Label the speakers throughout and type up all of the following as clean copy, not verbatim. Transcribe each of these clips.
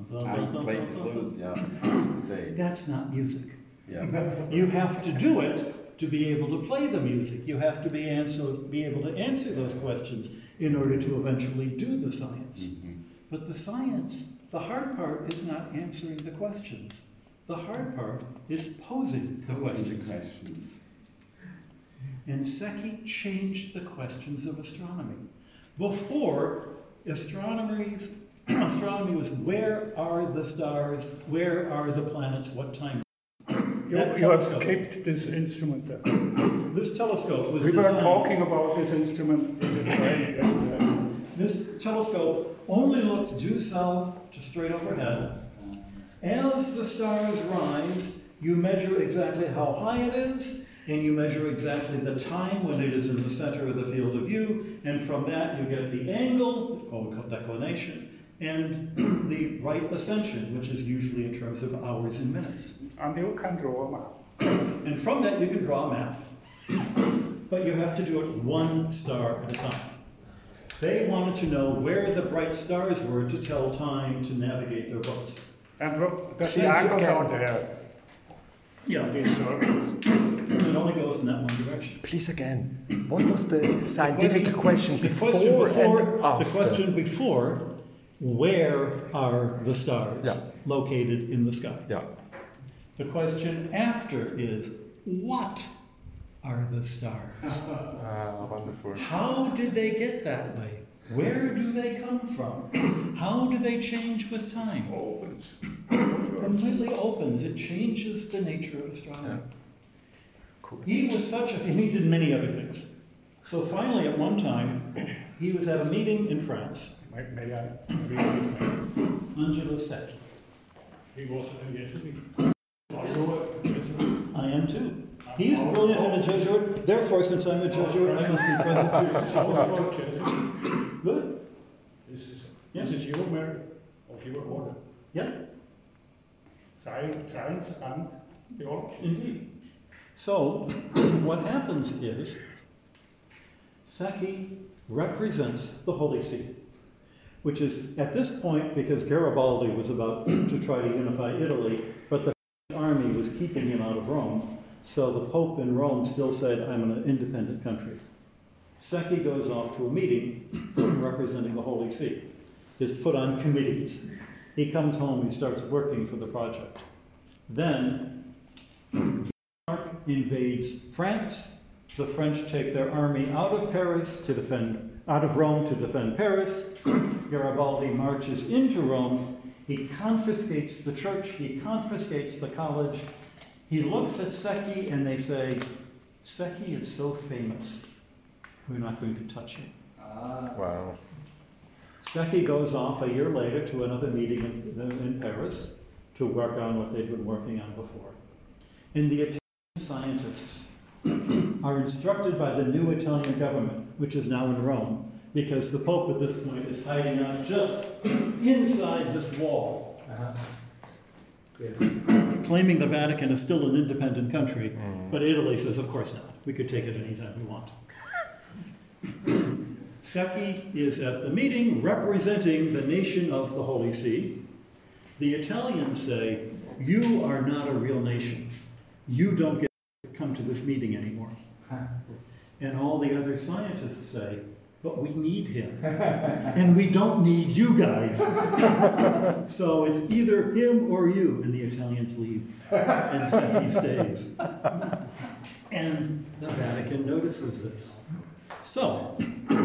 Speaker 1: I play the flute, yeah, say.
Speaker 2: That's not music.
Speaker 1: Yeah.
Speaker 2: You have to do it to be able to play the music. You have to be able to answer those questions in order to eventually do the science.
Speaker 1: Mm-hmm.
Speaker 2: But the science, the hard part is not answering the questions. The hard part is posing the questions. And Secchi changed the questions of astronomy. Before, astronomy was where are the stars, where are the planets, what time?
Speaker 3: You have skipped this instrument there.
Speaker 2: This telescope was
Speaker 3: We were
Speaker 2: designed.
Speaker 3: talking about this instrument in the train.
Speaker 2: This telescope only looks due south to straight overhead. As the stars rise, you measure exactly how high it is, and you measure exactly the time when it is in the center of the field of view, and from that you get the angle, called declination, and the right ascension, which is usually in terms of hours and minutes.
Speaker 3: And you can draw a map.
Speaker 2: And from that you can draw a map. But you have to do it one star at a time. They wanted to know where the bright stars were to tell time to navigate their boats.
Speaker 3: And look, the angles are there.
Speaker 2: Yeah,
Speaker 3: These circles.
Speaker 2: it only goes in that one direction.
Speaker 4: Please again, what was the scientific question
Speaker 2: The
Speaker 4: before, and after?
Speaker 2: the question before, where are the stars
Speaker 4: Yeah.
Speaker 2: located in the sky?
Speaker 4: Yeah.
Speaker 2: The question after is, what are the stars?
Speaker 4: Wonderful.
Speaker 2: How did they get that way? Where do they come from? How do they change with time?
Speaker 3: Opens.
Speaker 2: Completely opens. It changes the nature of astronomy.
Speaker 4: Yeah. Cool.
Speaker 2: He was and he did many other things. So finally, at one time, he was at a meeting in France.
Speaker 3: May I read his name?
Speaker 2: Angelo Secchi.
Speaker 3: He was a Jesuit.
Speaker 2: I am too. He's brilliant and a Jesuit. Therefore, since I'm a Jesuit, I must be present
Speaker 3: Also
Speaker 2: too.
Speaker 3: Jesuit.
Speaker 2: Good.
Speaker 3: This is your merit of your order.
Speaker 2: Yeah,
Speaker 3: Science and theology.
Speaker 2: indeed. So, what happens is, Secchi represents the Holy See, which is, at this point, because Garibaldi was about to try to unify Italy, but the French army was keeping him out of Rome, so the Pope in Rome still said, I'm an independent country. Secchi goes off to a meeting representing the Holy See. Is put on committees. He comes home, he starts working for the project. Then, Bismarck invades France. The French take their army out of Rome to defend Paris. Garibaldi marches into Rome. He confiscates the church, he confiscates the college. He looks at Secchi and they say, Secchi is so famous, we're not going to touch him.
Speaker 4: Wow.
Speaker 2: Secchi goes off a year later to another meeting in Paris to work on what they'd been working on before. And the Italian scientists are instructed by the new Italian government, which is now in Rome, because the Pope at this point is hiding out just inside this wall, claiming the Vatican is still an independent country, but Italy says, of course not. We could take it anytime we want. Secchi is at the meeting representing the nation of the Holy See. The Italians say, you are not a real nation. You don't get to come to this meeting anymore. And all the other scientists say, but we need him. And we don't need you guys. So it's either him or you. And the Italians leave. And Secchi stays. And the Vatican notices this. So,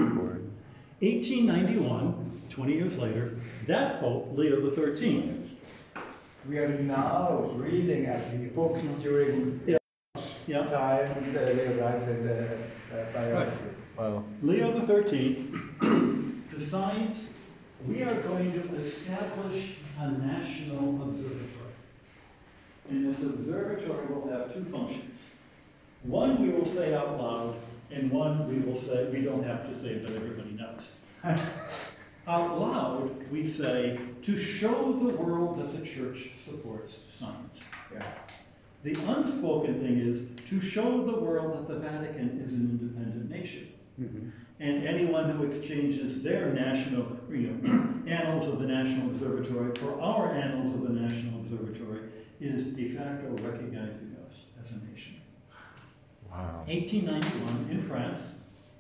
Speaker 2: 1891, 20 years later, that Pope, Leo XIII.
Speaker 5: We are now reading as the book during time, Leo writes in the biography.
Speaker 4: Wow.
Speaker 2: Leo XIII decides we are going to establish a national observatory. And this observatory will have two functions. One we will say out loud, and one we will say, we don't have to say, but everybody knows. Out loud, we say, to show the world that the church supports science.
Speaker 5: Yeah.
Speaker 2: The unspoken thing is to show the world that the Vatican is an independent nation. Mm-hmm. And anyone who exchanges their national Annals of the National Observatory, for our Annals of the National Observatory, is de facto recognizing us as a nation.
Speaker 4: Wow.
Speaker 2: 1891 in France,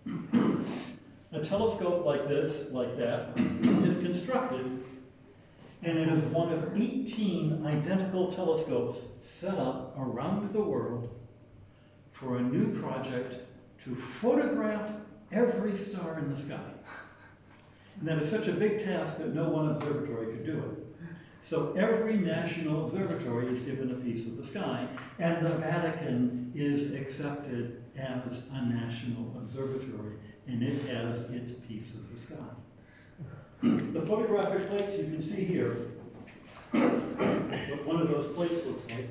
Speaker 2: a telescope like this, like that, is constructed, and it is one of 18 identical telescopes set up around the world for a new project to photograph every star in the sky. And that is such a big task that no one observatory could do it. So every national observatory is given a piece of the sky, and the Vatican is accepted as a national observatory, and it has its piece of the sky. The photographic plates you can see here, what one of those plates looks like.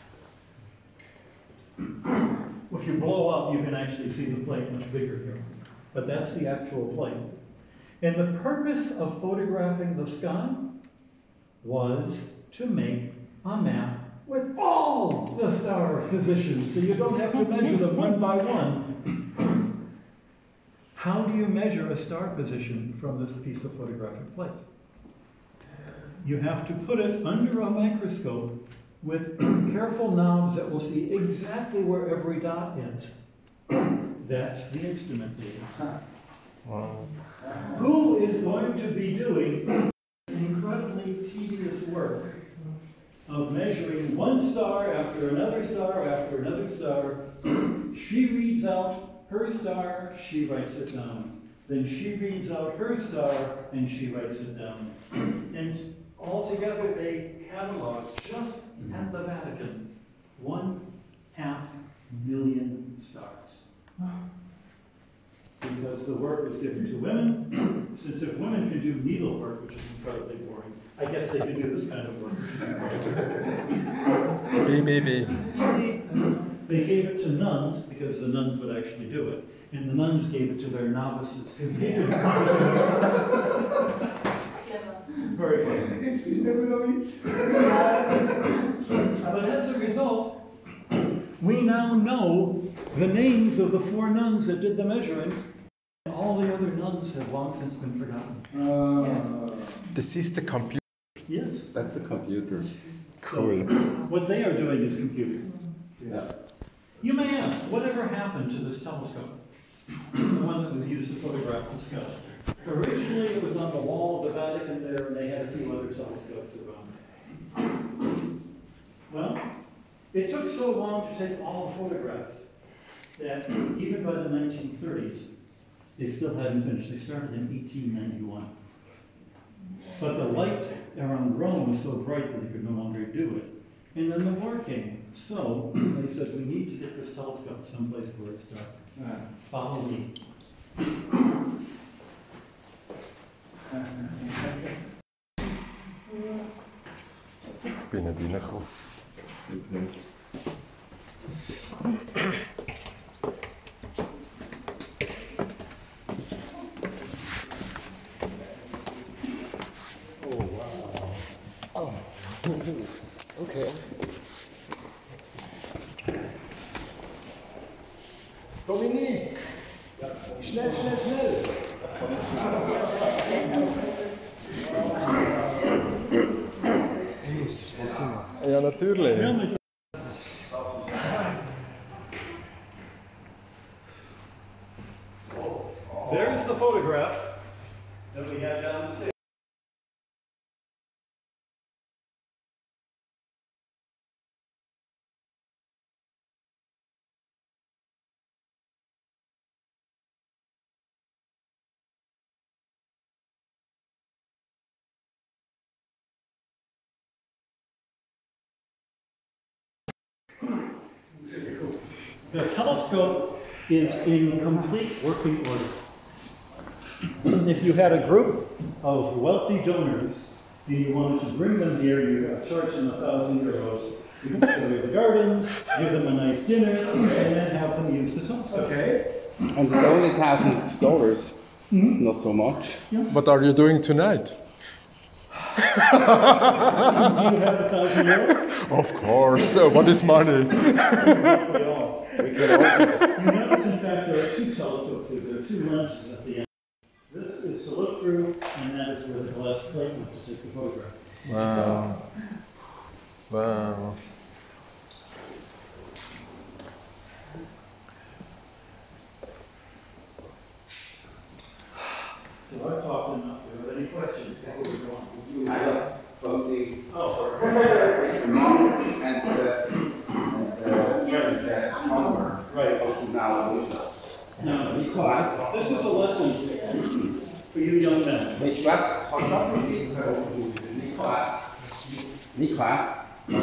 Speaker 2: If you blow up, you can actually see the plate much bigger here. But that's the actual plate. And the purpose of photographing the sky was to make a map with all the star positions, so you don't have to measure them one by one. How do you measure a star position from this piece of photographic plate? You have to put it under a microscope with careful knobs that will see exactly where every dot is. That's the instrument data.
Speaker 4: Wow.
Speaker 2: Who is going to be doing incredibly tedious work of measuring one star after another star after another star? She reads out her star, she writes it down. Then she reads out her star, and she writes it down. And altogether, they catalog just at the Vatican 500,000 stars. Because the work is given to women. Since if women can do needlework, which is incredibly boring, I guess they can do this kind of work.
Speaker 4: Baby.
Speaker 2: They gave it to nuns because the nuns would actually do it, and the nuns gave it to their novices because they didn't want to do it. Very funny. But as a result, we now know the names of the 4 nuns that did the measuring. All the other nuns have long since been forgotten.
Speaker 4: This is the computer.
Speaker 2: Yes.
Speaker 1: That's the computer.
Speaker 4: Cool.
Speaker 2: So, what they are doing is computing.
Speaker 1: Yeah.
Speaker 2: You may ask, whatever happened to this telescope? The one that was used to photograph the sky. Originally, it was on the wall of the Vatican there, and they had a few other telescopes around. Well, it took so long to take all the photographs that even by the 1930s, they still hadn't finished. They started in 1891. But the light around Rome was so bright that they could no longer do it. And then the war came. So they said, we need to get this telescope someplace where it's dark. Follow me.
Speaker 4: Ich bin nicht reingekommen. Okay.
Speaker 5: Dominik! Schnell, schnell, schnell!
Speaker 4: Ja, natürlich.
Speaker 2: There's the photograph that we had downstairs. The telescope is in complete working order. If you had a group of wealthy donors and you wanted to bring them here, you charge them €1,000. You can show them the gardens, give them a nice dinner, and then have them use the telescope. Okay.
Speaker 6: And it's only $1,000. Not so much.
Speaker 4: What are you doing tonight?
Speaker 2: Do you have €1,000?
Speaker 4: Of course. What is money?
Speaker 2: We all. You notice, in fact, there are 2 telescopes here. There are 2 lenses at the end. This is to look through, and that left Clayton to take the photograph.
Speaker 7: Wow. Wow.
Speaker 2: So I've talked enough. Do you have any questions before we go on?
Speaker 6: I have something
Speaker 2: Oh,
Speaker 6: monks and astronomer
Speaker 2: right.
Speaker 6: now.
Speaker 2: No,
Speaker 6: Nicholas.
Speaker 2: this is a lesson for you young men.
Speaker 6: Which what? Nicholas.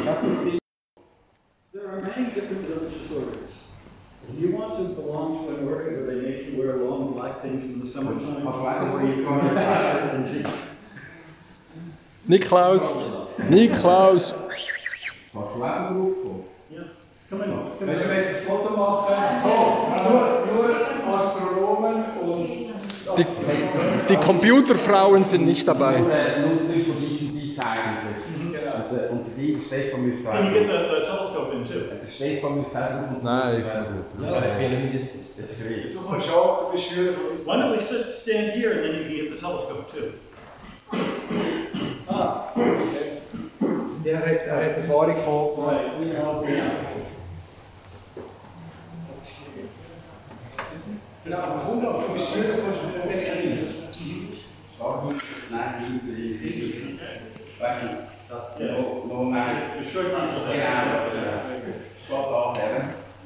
Speaker 2: There are many different religious orders. If you want to belong to an order where they make you wear long black things in the summertime, or you go to and jeans.
Speaker 7: Niklaus.
Speaker 2: Yeah, come in.
Speaker 5: Wenn wir jetzt das Foto machen, nur Astronomen und
Speaker 7: Die Computerfrauen sind nicht dabei.
Speaker 6: Nur von diesen Designs. Und die Stefan muss
Speaker 2: Can you get the telescope in too?
Speaker 6: Stefan muss sagen.
Speaker 7: Nein, ich
Speaker 6: Das Gerät.
Speaker 5: du kannst auch, du bist Schüler von uns.
Speaker 2: Why don't we stand here and then you can get the telescope too?
Speaker 5: Der hat Erfahrung von. Genau, du bist Schüler, kannst du nicht
Speaker 6: No nice. Stop off there.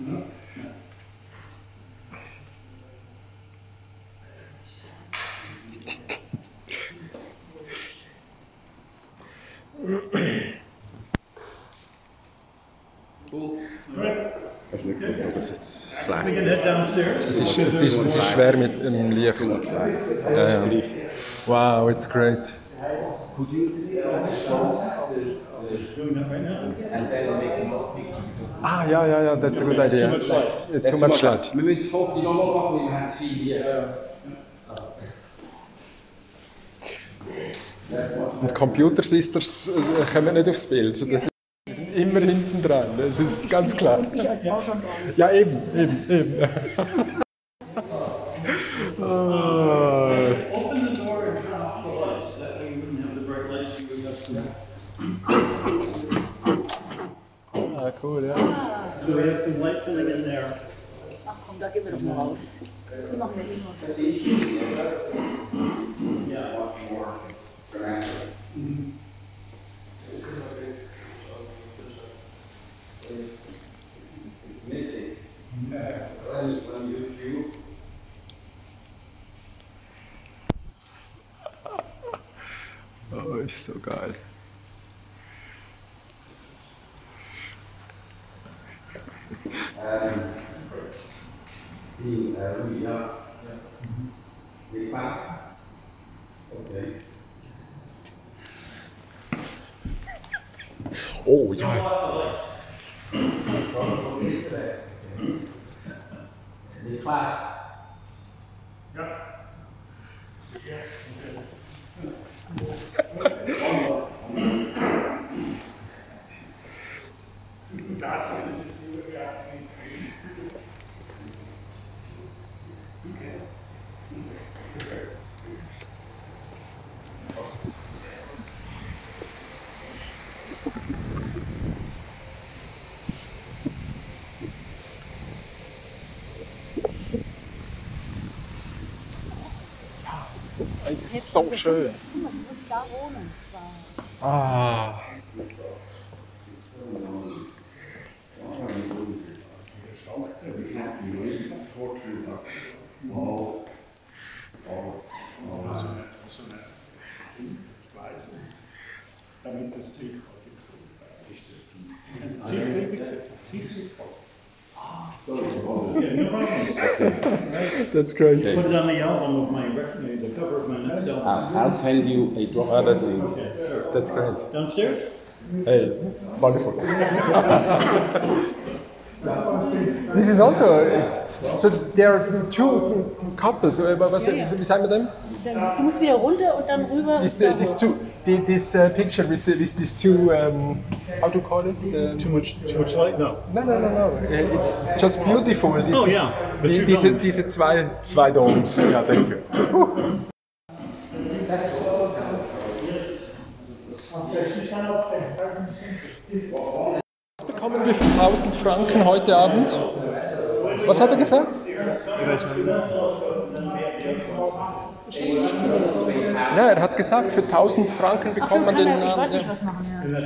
Speaker 7: Das ist nicht gut, aber das ist
Speaker 2: We
Speaker 7: schlecht.
Speaker 2: can head downstairs.
Speaker 7: Es ist schwer mit dem Licht. Ja, ja. Wow, it's great.
Speaker 6: Could you
Speaker 2: Doing that right now.
Speaker 6: and then make more pictures?
Speaker 7: Ah, ja, that's a good idea. Too much light.
Speaker 6: Wir müssen das Foto nochmal machen, wir haben sie hier.
Speaker 7: Und Computer Sisters kommen nicht aufs Bild. So, das die sind immer hinten dran, das ist ganz klar.
Speaker 8: Ich als Frau schon drauf.
Speaker 7: Ja, eben. Ah.
Speaker 2: Open the door and turn off the lights. That way you wouldn't have the bright lights. You would have some.
Speaker 7: Ah, cool, ja.
Speaker 2: So we have some light filling in there.
Speaker 8: Ach komm, da gehen wir doch mal raus. Die machen wir eh noch.
Speaker 7: Oh, ist so geil.
Speaker 6: Ja. Die Pass. Okay.
Speaker 7: Oh, ja.
Speaker 6: Die Pass.
Speaker 7: Es ist so schön.
Speaker 8: Guck mal, du musst da wohnen.
Speaker 7: Ah.
Speaker 3: Damit das Ziel quasi.
Speaker 2: Yeah, no problem.
Speaker 7: That's great.
Speaker 2: Put it on the album of my record, the cover of my next album.
Speaker 6: I'll send you a drop.
Speaker 7: Ah, that's,
Speaker 2: Okay, sure.
Speaker 7: that's great.
Speaker 2: Downstairs?
Speaker 7: Hey, wonderful. This is also. So there are two couples. Wie sagen wir dem?
Speaker 8: Du musst wieder runter und dann rüber.
Speaker 7: This picture with these two. How to call it?
Speaker 2: Too much light? No.
Speaker 7: No. It's just beautiful.
Speaker 2: Oh, yeah. The two domes.
Speaker 7: Diese zwei Domes. Ja, thank you. Bekommen wir für 1000 Franken heute Abend? Was hat er gesagt? Ja, er hat gesagt, für 1000 Franken
Speaker 8: Ach so,
Speaker 7: bekommt man
Speaker 8: kann
Speaker 7: den
Speaker 8: er, ich
Speaker 7: Namen.
Speaker 8: weiß nicht, was machen, ja.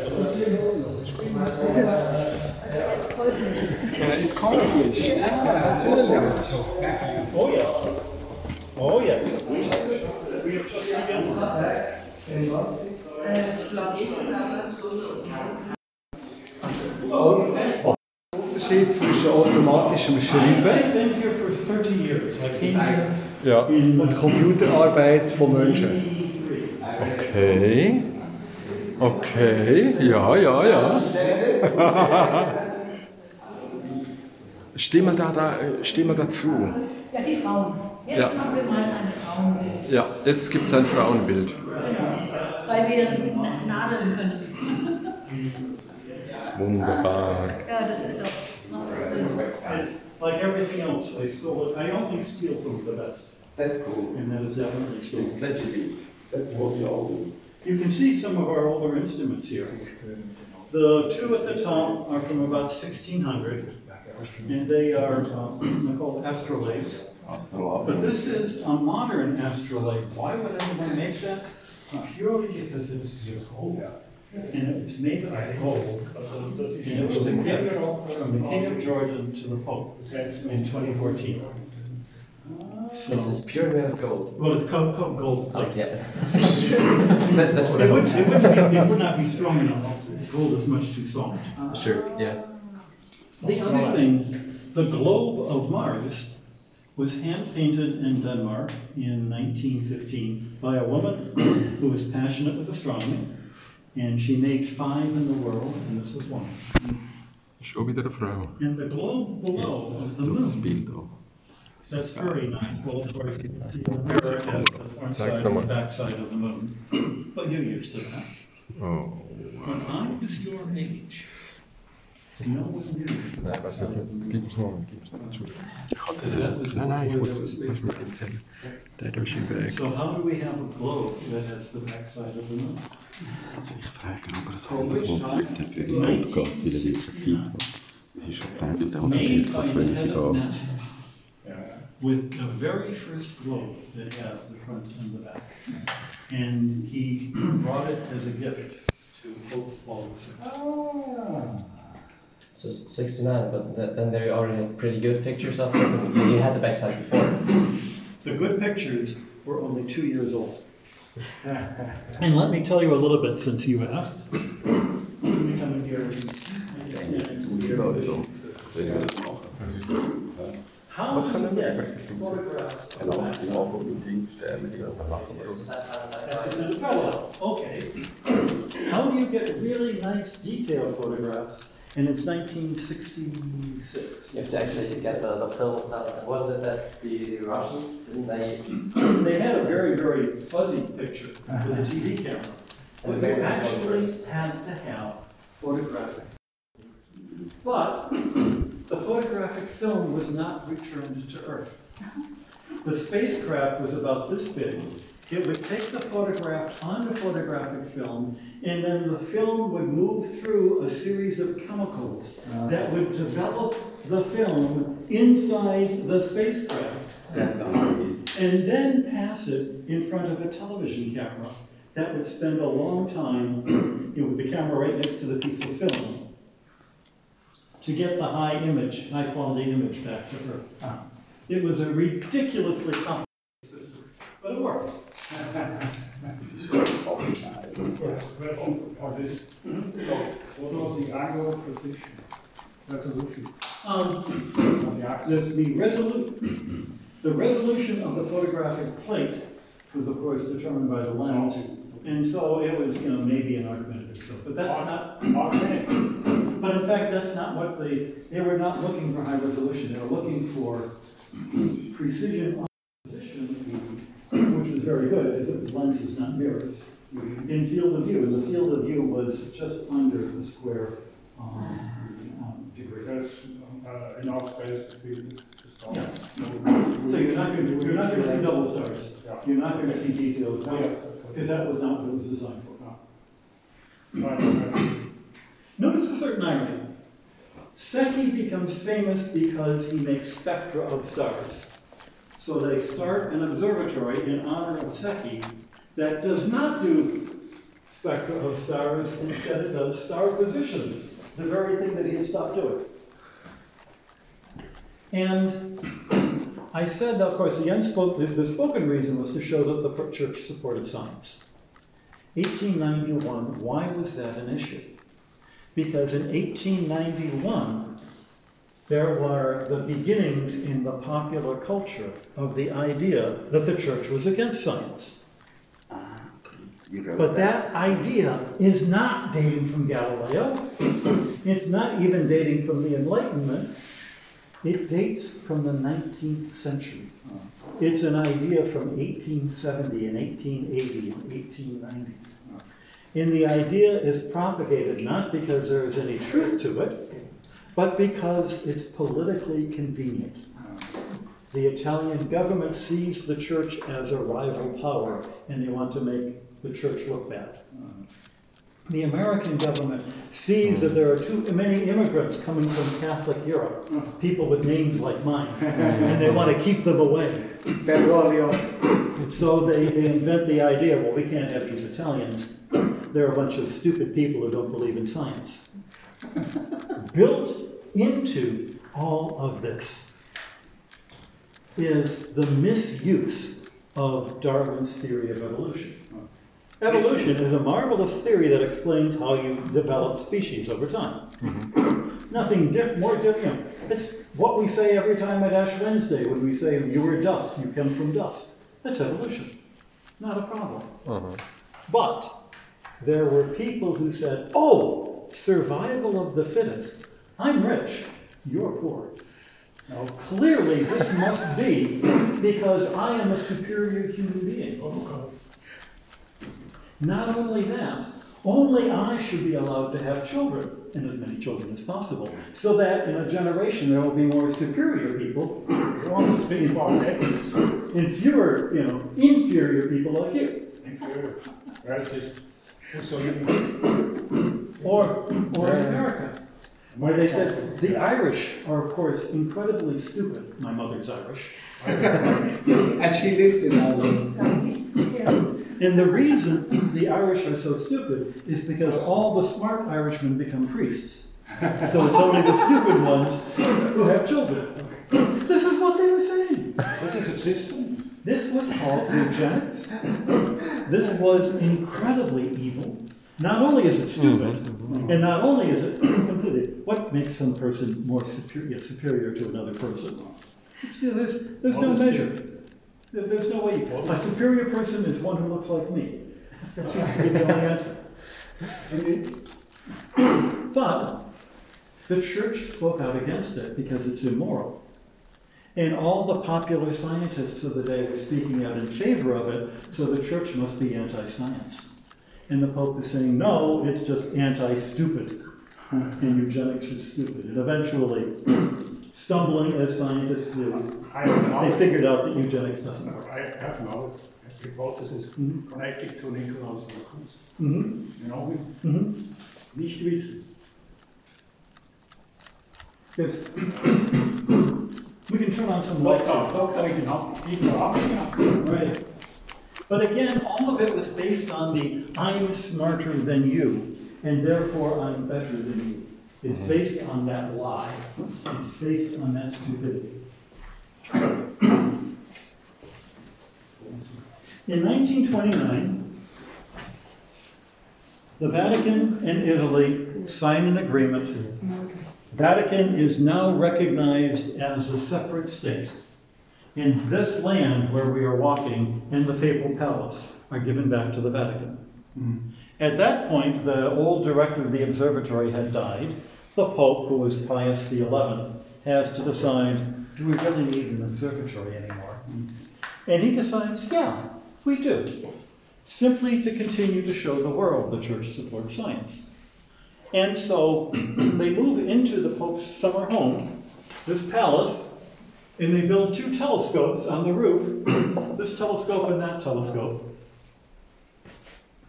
Speaker 8: Jetzt käuflich.
Speaker 7: Er ist käuflich. Natürlich.
Speaker 2: Oh yes. Oh yes.
Speaker 5: Unterschied zwischen automatischem Schreiben
Speaker 2: I've been here for 30 years. I came here
Speaker 7: Ja.
Speaker 2: in
Speaker 5: und Computerarbeit von Menschen.
Speaker 2: 1983.
Speaker 7: Okay. Okay. Ja. Stehen wir dazu.
Speaker 8: Ja, die Frauen. Jetzt
Speaker 7: Ja.
Speaker 8: machen wir mal ein Frauenbild.
Speaker 7: Ja, jetzt gibt es ein Frauenbild.
Speaker 8: Weil wir das nadeln können.
Speaker 7: Wunderbar.
Speaker 8: Ja, das ist doch.
Speaker 2: It's like everything else. I only steal from the best.
Speaker 1: That's cool.
Speaker 2: And that is definitely stolen.
Speaker 1: It's legitimate. That's what we all do.
Speaker 2: You can see some of our older instruments here. The two at the top are from about 1600, and they are they're called astrolabes. But this is a modern astrolabe. Why would anyone make that? Purely because it's gold, and it's made of gold. And it was a gift from the King of Jordan to the Pope in 2014. So,
Speaker 6: It's pure made of gold.
Speaker 2: well, it's called gold.
Speaker 6: Oh, yeah. That's what I
Speaker 2: It
Speaker 6: hope.
Speaker 2: would not be strong enough. Gold is much too soft.
Speaker 6: Sure, yeah.
Speaker 2: The other thing, the globe of Mars was hand-painted in Denmark in 1915 by a woman who was passionate with astronomy, and she made 5 in the world, and this was one.
Speaker 7: Schon wieder eine Frau.
Speaker 2: And the globe below of the
Speaker 7: Das
Speaker 2: moon,
Speaker 7: Bild auch.
Speaker 2: that's very nice. Well, of course, the mirror has the front
Speaker 7: Zeig's
Speaker 2: side and
Speaker 7: nochmal.
Speaker 2: the back side of the moon, but you're used to that.
Speaker 7: Oh.
Speaker 2: When I was your age, no one knew.
Speaker 7: Nein, was ist nicht? Gib es noch. Entschuldigung. Nein, ich wollte es mit dem erzählen. Der ist im Weg.
Speaker 2: So how do we have a globe that has the back side of the moon?
Speaker 1: Also ich frage, ob er so das montiert hat für den Podcast, weil er wirklich Zeit hat. Es ist schon fertig, der hat
Speaker 2: Made
Speaker 1: nicht
Speaker 2: by
Speaker 1: vor
Speaker 2: the
Speaker 1: 12
Speaker 2: head of
Speaker 1: Jahren.
Speaker 2: NASA, with the very first globe that had the front and the back. And he brought it as a gift to Pope Paul VI.
Speaker 6: So 69, but then they already had pretty good pictures of it. You had the backside before.
Speaker 2: The good pictures were only 2 years old. And let me tell you a little bit since you asked. Let me come in here. How do you get photographs of the backside? Okay. How do you get really nice detailed photographs? And it's 1966.
Speaker 6: You have to actually get the film itself. Wasn't it that the Russians, didn't they?
Speaker 2: They had a very, very fuzzy picture with a TV camera. But they actually had to have photographic. But the photographic film was not returned to Earth. The spacecraft was about this big. It would take the photograph on the photographic film, and then the film would move through a series of chemicals that would develop the film inside the spacecraft, and then pass it in front of a television camera that would spend a long time with the camera right next to the piece of film to get the high quality image back to Earth. It was a ridiculously complicated system, but it worked.
Speaker 3: What was the angle position? Resolution.
Speaker 2: The resolution of the photographic plate was, of course, determined by the lens, and so it was, maybe an argumentative stuff. But that's not. But in fact, that's not what they were not looking for high resolution. They were looking for precision on position, which was very good if it was lenses, not mirrors, in field of view. And the field of view was just under the square degree.
Speaker 3: There's enough space to be.
Speaker 2: Yeah. So you're not going to see double stars. You're not going to see details, because that was not what it was designed for. Notice a certain irony. Secchi becomes famous because he makes spectra of stars. So they start an observatory in honor of Secchi that does not do spectra of stars, instead it does star positions, the very thing that he had stopped doing. And I said, of course, the spoken reason was to show that the church supported science. 1891, why was that an issue? Because in 1891, there were the beginnings in the popular culture of the idea that the church was against science. But that idea is not dating from Galileo. It's not even dating from the Enlightenment. It dates from the 19th century. It's an idea from 1870 and 1880 and 1890. And the idea is propagated not because there is any truth to it, but because it's politically convenient. The Italian government sees the church as a rival power, and they want to make the church look bad. The American government sees that there are too many immigrants coming from Catholic Europe, people with names like mine, and they want to keep them away. So they invent the idea, well, we can't have these Italians. They're a bunch of stupid people who don't believe in science. Built into all of this is the misuse of Darwin's theory of evolution. Evolution is a marvelous theory that explains how you develop species over time. Nothing more different. It's what we say every time at Ash Wednesday when we say, you were dust, you come from dust. That's evolution. Not a problem. But there were people who said, oh, survival of the fittest. I'm rich, you're poor. Now, clearly this must be because I am a superior human being. Not only that, only I should be allowed to have children, and as many children as possible, so that in a generation there will be more superior people, and fewer, inferior people like you. Or in America, where they said the Irish are, of course, incredibly stupid. My mother's Irish.
Speaker 5: And she lives in Ireland.
Speaker 8: Yes.
Speaker 2: And the reason the Irish are so stupid is because all the smart Irishmen become priests. So it's only the stupid ones who have children. This is what they were saying.
Speaker 3: This is a system.
Speaker 2: This was called eugenics. This was incredibly evil. Not only is it stupid, and not only is it completely, what makes some person more superior to another person? There's no measure. There's no way. A superior person is one who looks like me. That seems to be the only answer. But the church spoke out against it because it's immoral. And all the popular scientists of the day were speaking out in favor of it, so the church must be anti-science. And the Pope is saying, no, it's just anti-stupid. And eugenics is stupid. And eventually, stumbling as scientists do, they figured out that eugenics doesn't work.
Speaker 3: I have knowledge. Hypothesis connected to Nikolaus von Kunst. Nicht wissen.
Speaker 2: Yes. We can turn on some lights. Right. But again, all of it was based on the I'm smarter than you, and therefore I'm better than you. It's based on that lie. It's based on that stupidity. In 1929, the Vatican and Italy sign an agreement. Vatican is now recognized as a separate state. And this land where we are walking and the Papal Palace are given back to the Vatican. At that point, the old director of the observatory had died. The Pope, who was Pius XI, has to decide, do we really need an observatory anymore? And he decides, yeah, we do. Simply to continue to show the world the church supports science. And so they move into the Pope's summer home, this palace, and they build two telescopes on the roof, this telescope and that telescope.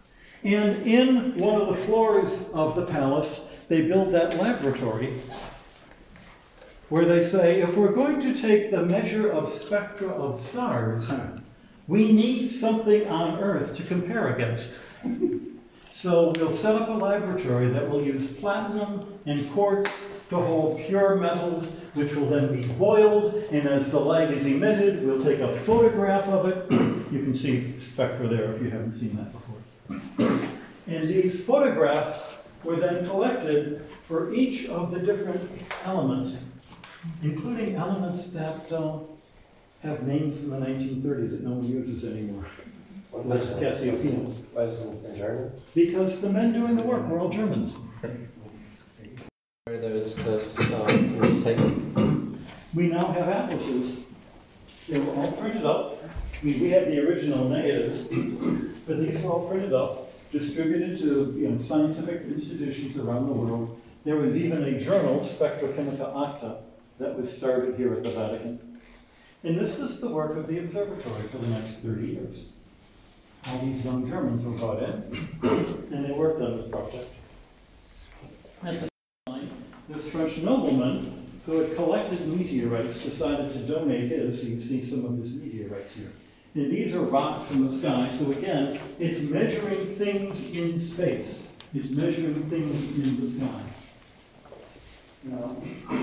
Speaker 2: And in one of the floors of the palace, they build that laboratory where they say, if we're going to take the measure of spectra of stars, we need something on Earth to compare against. So we'll set up a laboratory that will use platinum and quartz to hold pure metals, which will then be boiled, and as the light is emitted, we'll take a photograph of it. You can see spectra there if you haven't seen that before. And these photographs were then collected for each of the different elements, including elements that have names in the 1930s that no one uses anymore. Like Cassiopeia.
Speaker 6: Why is it in German?
Speaker 2: Because the men doing the work were all Germans.
Speaker 6: Where there's this mistake.
Speaker 2: We now have atlases. They were all printed up. We had the original negatives, but these were all printed up, distributed to scientific institutions around the world. There was even a journal, Spectra Chemica Acta, that was started here at the Vatican. And this was the work of the observatory for the next 30 years. All these young Germans were brought in, and they worked on this project. At the same time, this French nobleman who had collected meteorites decided to donate his. So you see some of his meteorites here. And these are rocks from the sky. So again, it's measuring things in space. It's measuring things in the sky. Now,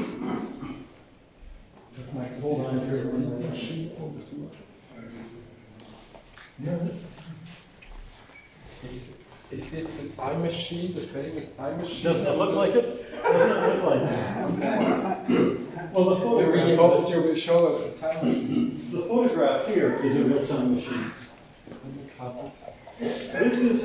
Speaker 2: hold on here.
Speaker 7: Is this the time machine, the famous time machine?
Speaker 2: Doesn't it look like it? Doesn't it look like it? Well, the
Speaker 7: I thought you will show us the time machine.
Speaker 2: The photograph here is a real-time machine. This is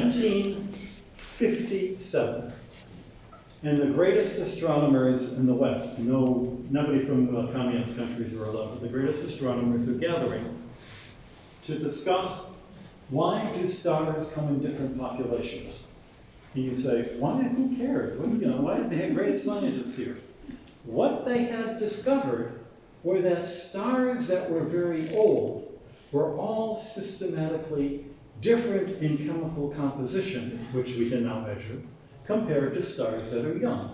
Speaker 2: 1957. And the greatest astronomers in the West, nobody from communist countries are allowed, but the greatest astronomers are gathering to discuss why do stars come in different populations. And you say, why? Who cares? Why did they have great scientists here? What they had discovered were that stars that were very old were all systematically different in chemical composition, which we can now measure, compared to stars that are young.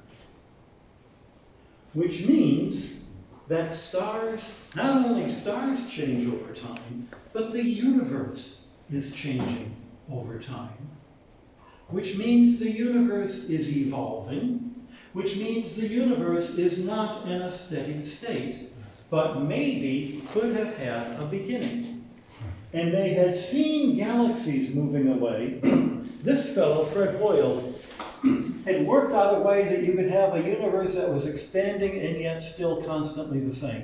Speaker 2: Which means that not only stars change over time, but the universe is changing over time. Which means the universe is evolving, which means the universe is not in a steady state, but maybe could have had a beginning. And they had seen galaxies moving away. This fellow, Fred Hoyle, had worked out a way that you could have a universe that was expanding and yet still constantly the same.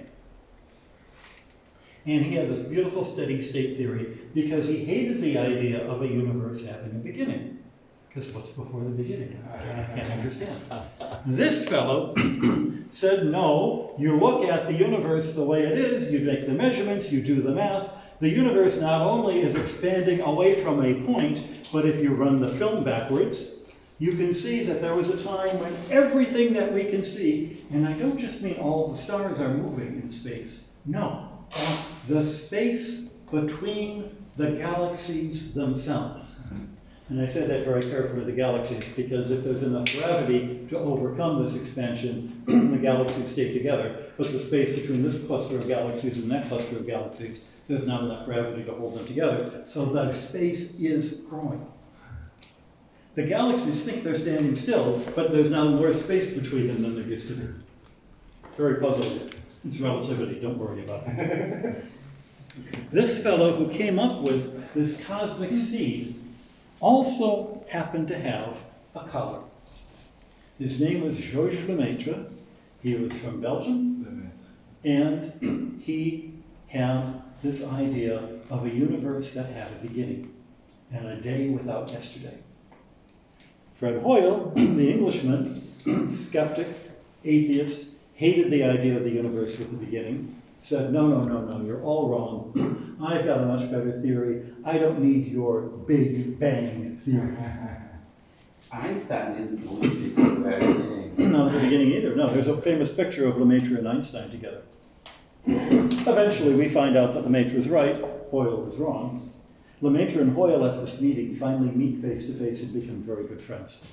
Speaker 2: And he had this beautiful steady state theory because he hated the idea of a universe having a beginning. Because what's before the beginning? I can't understand. This fellow said, no, you look at the universe the way it is, you make the measurements, you do the math. The universe not only is expanding away from a point, but if you run the film backwards, you can see that there was a time when everything that we can see, and I don't just mean all the stars are moving in space. No, the space between the galaxies themselves. And I said that very carefully, the galaxies, because if there's enough gravity to overcome this expansion, the galaxies stay together. But the space between this cluster of galaxies and that cluster of galaxies, there's not enough gravity to hold them together. So the space is growing. The galaxies think they're standing still, but there's now more space between them than there used to be. Very puzzling. It's relativity, don't worry about it. This fellow who came up with this cosmic seed also happened to have a color. His name was Georges Lemaitre. He was from Belgium, and he had this idea of a universe that had a beginning and a day without yesterday. Fred Hoyle, the Englishman, skeptic, atheist, hated the idea of the universe with a beginning, said, no, you're all wrong. I've got a much better theory. I don't need your Big Bang theory.
Speaker 1: Einstein didn't believe it at the very beginning.
Speaker 2: Not at the beginning either. No, there's a famous picture of Lemaitre and Einstein together. Eventually, we find out that Lemaitre was right, Hoyle was wrong. Lemaitre and Hoyle at this meeting finally meet face to face and become very good friends.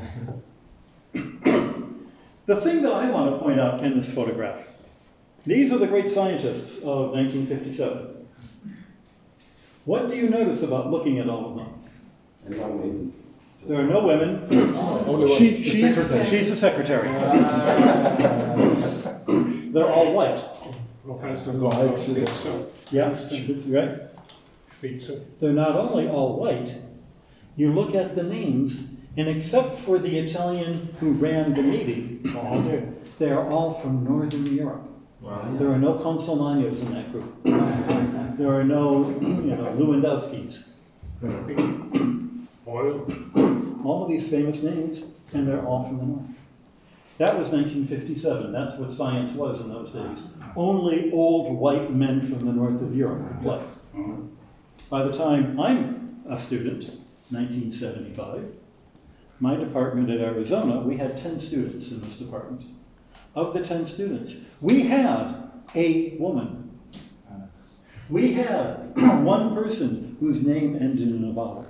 Speaker 2: The thing that I want to point out in this photograph, these are the great scientists of 1957. What do you notice about looking at all of them? There are no women.
Speaker 7: Only one.
Speaker 2: She's the secretary. They're all white.
Speaker 3: Professor
Speaker 7: White.
Speaker 3: Spitzer.
Speaker 2: Yeah, that's right.
Speaker 3: Spitzer.
Speaker 2: They're not only all white, you look at the names, and except for the Italian who ran the meeting, they are all from Northern Europe.
Speaker 7: Wow.
Speaker 2: There are no Consolmagnos in that group. There are no, Lewandowskis.
Speaker 3: Hoyle.
Speaker 2: All of these famous names, and they're all from the north. That was 1957. That's what science was in those days. Only old white men from the north of Europe could play. By the time I'm a student, 1975, my department at Arizona, we had 10 students in this department. Of the 10 students, we had a woman. We had one person whose name ended in a vowel.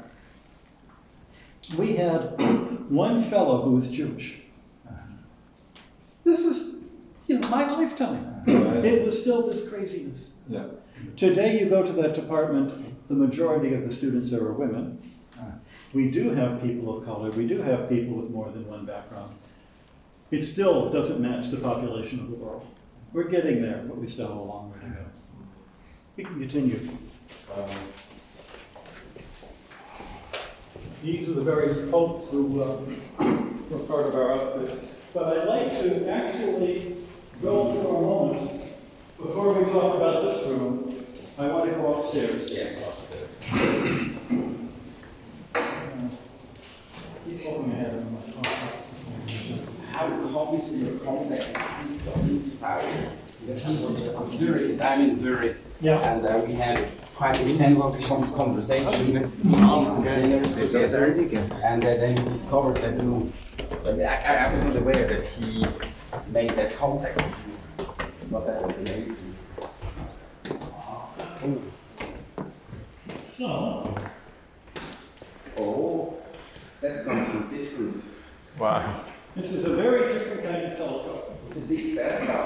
Speaker 2: We had one fellow who was Jewish. This is, my lifetime. It was still this craziness.
Speaker 7: Yeah.
Speaker 2: Today you go to that department, the majority of the students there are women. We do have people of color, we do have people with more than one background. It still doesn't match the population of the world. We're getting there, but we still have a long way to go. We can continue. These are the various folks who were part of our outfit. But I'd like to actually go for a moment, before we talk about this room, I want to go upstairs. Keep looking ahead of my
Speaker 9: How come is your contact inside? Because he's in Zurich, I'm in Zurich.
Speaker 2: Yeah.
Speaker 9: And we had quite intense conversation. And then he discovered that I was not aware that he made that contact with you. But that was amazing.
Speaker 2: So,
Speaker 9: Oh, that's something different.
Speaker 7: Wow.
Speaker 2: this is a very different kind of telescope.
Speaker 9: It's a big better.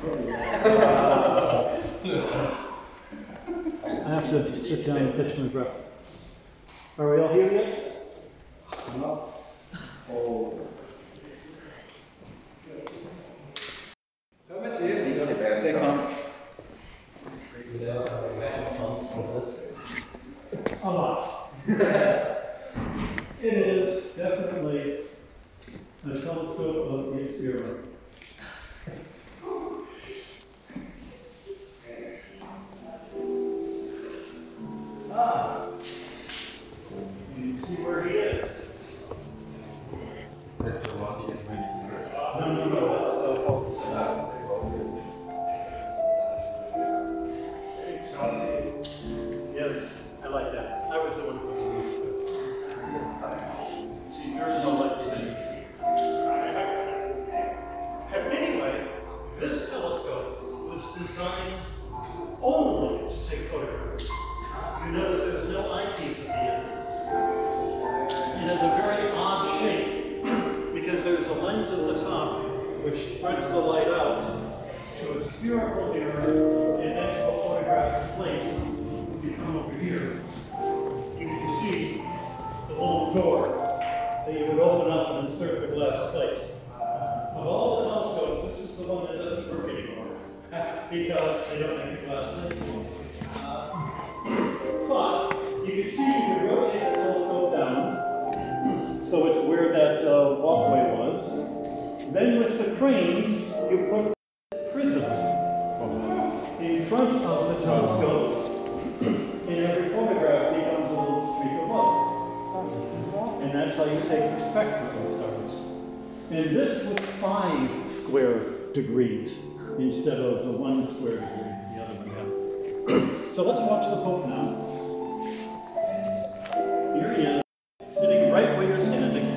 Speaker 2: I have to sit down and catch my breath. Are we all here yet?
Speaker 9: Not all.
Speaker 2: They come. A lot. It is definitely a telescope of the experiment. You can see where he is. No, that's the focus. Yes, I like that. I was the one who was it. See, yours all like the same. Anyway, this telescope was designed only to take photographs. You notice there's no eyepiece at the end. It has a very odd shape because there's a lens at the top which spreads the light out to a spherical mirror and then to a photographic plate. If you come over here, you can see the little door that you would open up and insert the glass plate. Of all the telescopes, this is the one that doesn't work anymore because they don't have the glass plates. But you can see you can rotate the telescope down, so it's where that walkway was. Then with the crane, you put a prism in front of the telescope, and every photograph becomes a little streak of light. And that's how you take the spectrum of stars. And this was 5 square degrees instead of the 1 square degree the other one had. So let's watch the Pope now. Here he is, sitting right where you're standing.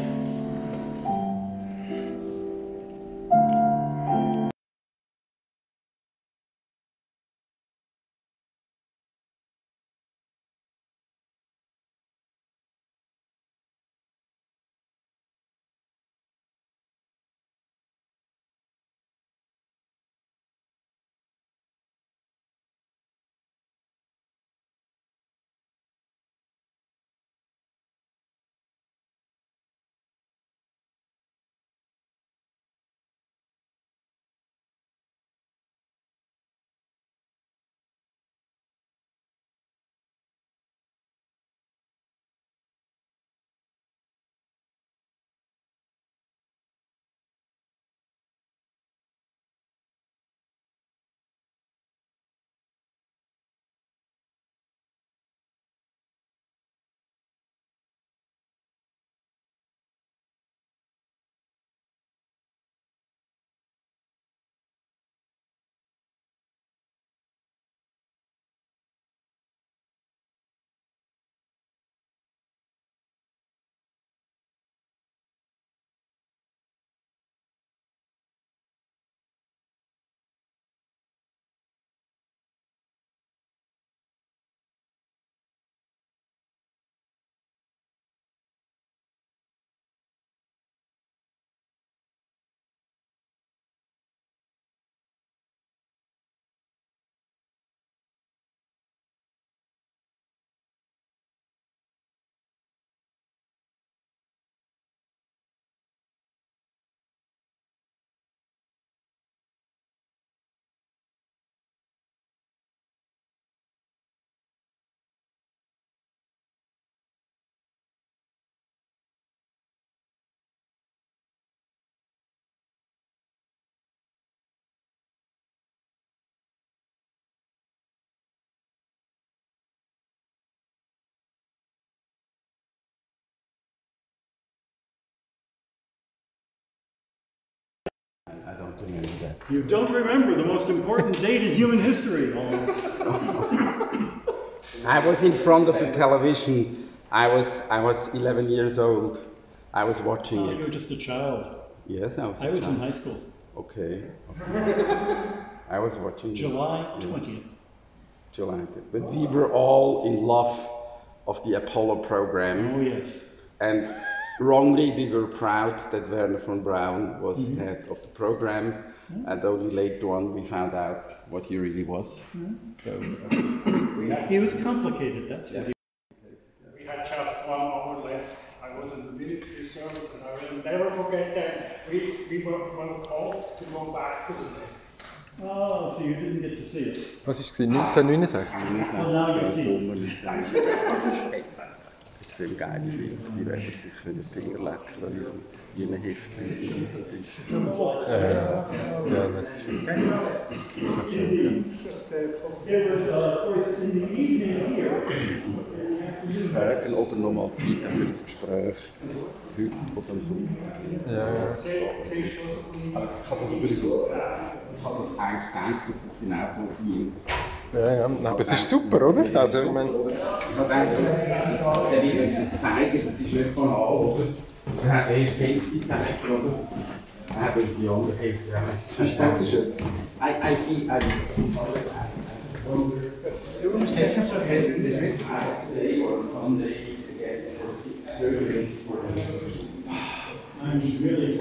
Speaker 1: I don't remember that.
Speaker 2: You don't remember the most important date in human history, almost.
Speaker 9: I was in front of the television. I was 11 years old. I was watching
Speaker 2: Oh,
Speaker 9: it.
Speaker 2: you were just a child.
Speaker 9: Yes, I was.
Speaker 2: I was in high school.
Speaker 9: Okay. I was watching it.
Speaker 2: July 20th.
Speaker 9: July. But we were all in love of the Apollo program.
Speaker 2: Oh, yes.
Speaker 9: And wrongly we were proud that Werner von Braun was head of the program. And only later on we found out what he really was. So
Speaker 2: He was complicated, that's what he
Speaker 3: We had just 1 hour left. I was in the military service, and I will never forget that. We were called to go back to the day.
Speaker 2: Oh, so you didn't get to see it.
Speaker 7: Was war es? 1969?
Speaker 2: Well, now you see.
Speaker 1: Extrem geile Filme, die werden sich für den Finger lecken, wie ein Heftchen.
Speaker 7: Ja, das ist
Speaker 2: It was, of course, in the evening here.
Speaker 1: Wir fragen, ob er nochmal Zeit hat für das Gespräch, heute oder am Sonntag.
Speaker 7: ja.
Speaker 9: ich habe das übrigens, ich habe das eigentlich gedacht, dass es genau so ging.
Speaker 7: Ja, nein, aber es ist super, oder? Also, ich meine,
Speaker 9: Ich habe gedacht, der will uns das zeigen, das ist nicht banal, oder? Er hat erst die Hälfte gezeigt, oder? Er hat die andere Hälfte, ja. Das ist jetzt.
Speaker 2: I'm really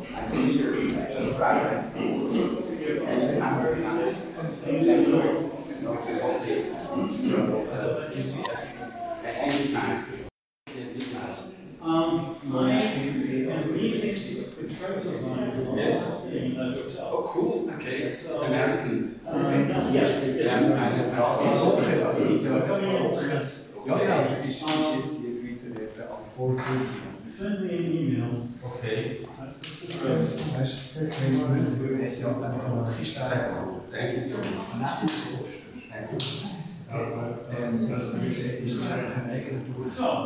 Speaker 9: Oh, cool. Okay, it's Americans.
Speaker 2: Send me an email.
Speaker 9: Okay. Thank you so much. Thank you.
Speaker 2: So,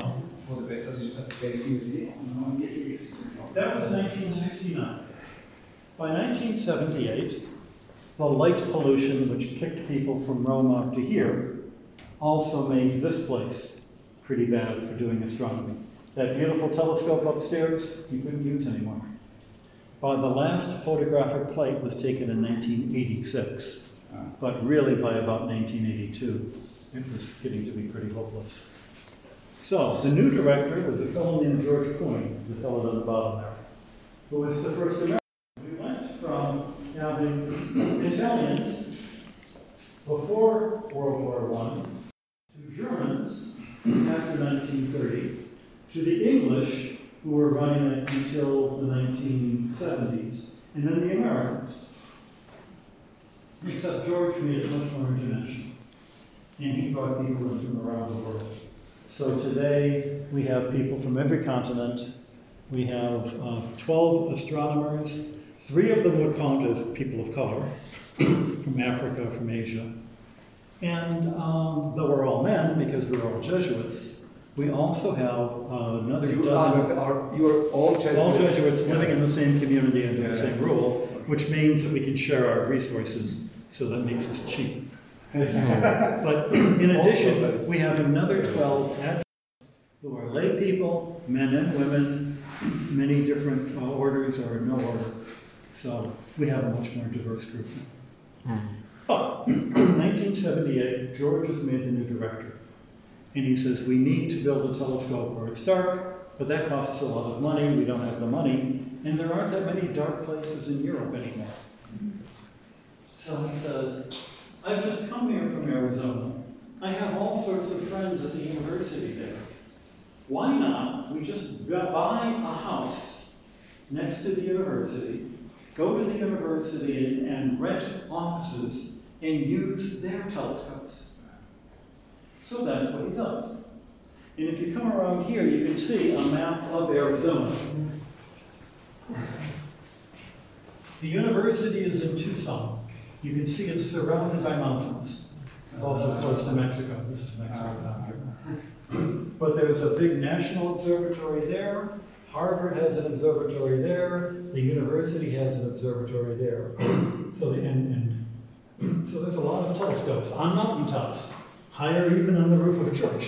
Speaker 2: that was 1969. By 1978, the light pollution which kicked people from Rome up to here also made this place pretty bad for doing astronomy. That beautiful telescope upstairs, you couldn't use anymore. The last photographic plate was taken in 1986, but really by about 1982, it was getting to be pretty hopeless. So, the new director was a fellow named George Coyne, the fellow on the bottom there, who was the first American. We went from having Italians before World War I to Germans after 1930 to the English who were running it until the 1970s, and then the Americans. Except George made it much more international, and he brought people in from around the world. So today we have people from every continent. We have 12 astronomers. 3 of them would count as people of color, from Africa, from Asia. And though we're all men, because we're all Jesuits, we also have another dozen.
Speaker 5: You are all Jesuits.
Speaker 2: All Jesuits living in the same community under the same rule, which means that we can share our resources, so that makes us cheap. But in addition, we have another 12 adjuncts who are lay people, men and women, many different orders or no order. So we have a much more diverse group now. But in 1978, George was made the new director. And he says, we need to build a telescope where it's dark, but that costs a lot of money. We don't have the money. And there aren't that many dark places in Europe anymore. So he says, I've just come here from Arizona. I have all sorts of friends at the university there. Why not we just buy a house next to the university, go to the university and rent offices and use their telescopes? So that's what he does. And if you come around here, you can see a map of Arizona. The university is in Tucson. You can see it's surrounded by mountains. It's also close to Mexico. This is Mexico down here. But there's a big national observatory there, Harvard has an observatory there, the university has an observatory there. So so there's a lot of telescopes on mountaintops, higher even on the roof of a church.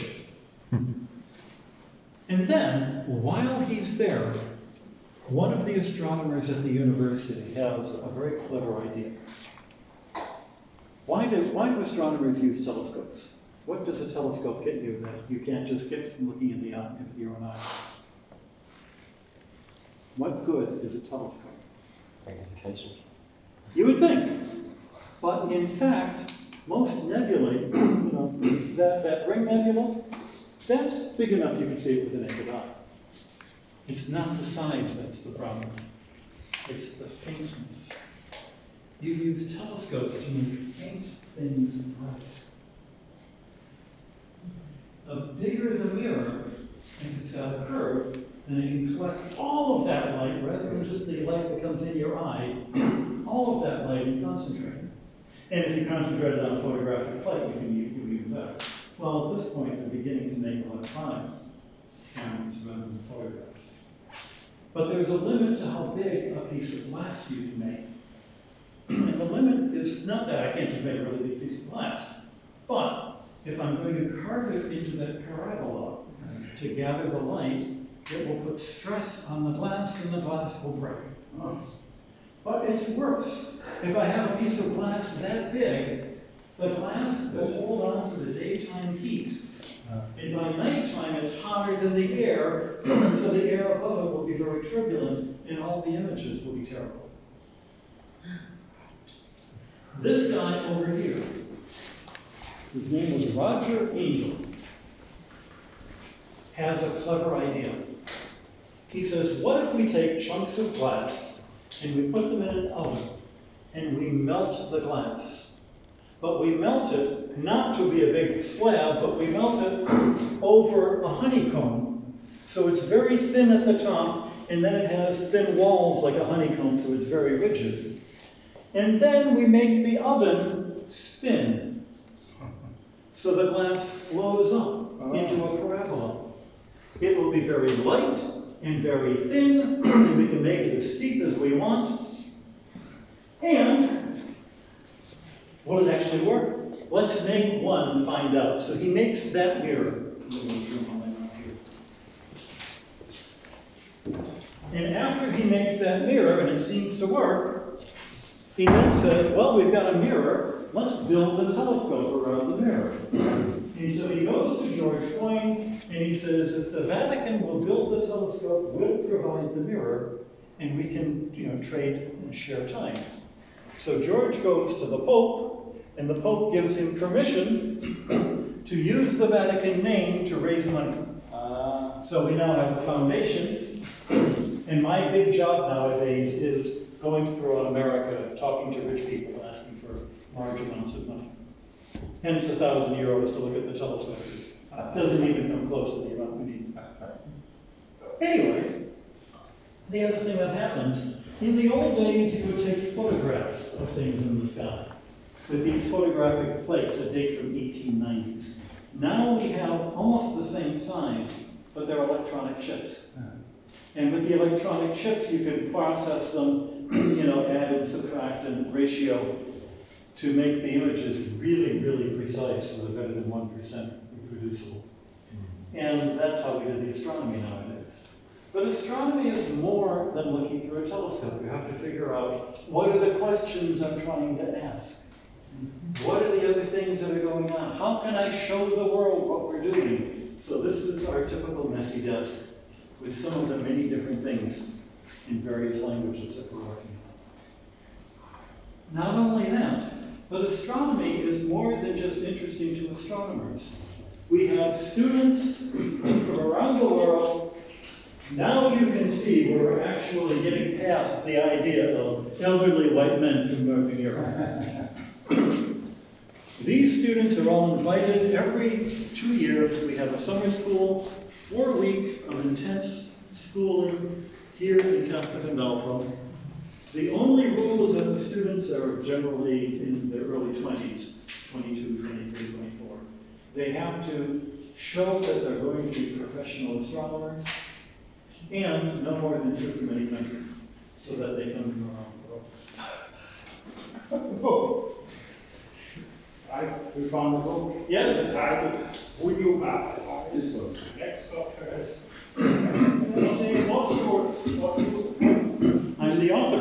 Speaker 2: And then, while he's there, one of the astronomers at the university has a very clever idea. Why do astronomers use telescopes? What does a telescope get you that you can't just get from looking in your own eye? What good is a telescope?
Speaker 6: Magnification.
Speaker 2: You would think. But in fact, most nebulae, that ring nebula, that's big enough you can see it with the naked eye. It's not the size that's the problem. It's the faintness. You use telescopes to make faint things bright. The bigger the mirror, and it's got a curve, then it can collect all of that light rather than just the light that comes in your eye, all of that light and concentrate it. And if you concentrate it on a photographic plate, you can do even better. Well, at this point, they're beginning to make electronic cameras rather than photographs. But there's a limit to how big a piece of glass you can make. And the limit is not that I can't just make a really big piece of glass, but if I'm going to carve it into that parabola to gather the light, it will put stress on the glass and the glass will break. But it's worse. If I have a piece of glass that big, the glass will hold on to the daytime heat. And by nighttime, it's hotter than the air, so the air above it will be very turbulent, and all the images will be terrible. This guy over here, his name was Roger Angel, has a clever idea. He says, what if we take chunks of glass and we put them in an oven and we melt the glass? But we melt it not to be a big slab, but we melt it over a honeycomb. So it's very thin at the top, and then it has thin walls like a honeycomb, so it's very rigid. And then we make the oven spin. So the glass flows up into a parabola. It will be very light and very thin, and we can make it as steep as we want. And will it actually work? Let's make one and find out. So he makes that mirror. And after he makes that mirror, and it seems to work, he then says, well, we've got a mirror. Let's build a telescope around the mirror. And so he goes to George Coyne, and he says, if the Vatican will build the telescope, we'll provide the mirror, and we can, trade and share time. So George goes to the Pope, and the Pope gives him permission to use the Vatican name to raise money. So we now have a foundation, and my big job nowadays is going throughout America, talking to rich people, asking for large amounts of money. Hence €1,000 to look at the telescope. It doesn't even come close to the amount we need. Anyway, the other thing that happens, in the old days, you would take photographs of things in the sky with these photographic plates that date from 1890s. Now we have almost the same size, but they're electronic chips. And with the electronic chips, you can process them, add and subtract and ratio to make the images really, really precise, so they're better than 1% reproducible. And that's how we do the astronomy nowadays. But astronomy is more than looking through a telescope. You have to figure out, what are the questions I'm trying to ask? What are the other things that are going on? How can I show the world what we're doing? So this is our typical messy desk with some of the many different things in various languages that we're working on. Not only that, but astronomy is more than just interesting to astronomers. We have students from around the world. Now you can see where we're actually getting past the idea of elderly white men from Northern Europe. These students are all invited every 2 years. We have a summer school, 4 weeks of intense schooling here in Castelgandolfo. The only rule is that the students are generally in their early 20s, 22, 23, 24. They have to show that they're going to be professional astronomers. and no more than 2 from any country, so that they come from around the world.
Speaker 3: We found a book.
Speaker 2: Yes.
Speaker 3: Titled, Would You Baptize?
Speaker 9: This one.
Speaker 3: Next up first.
Speaker 2: I'm the author.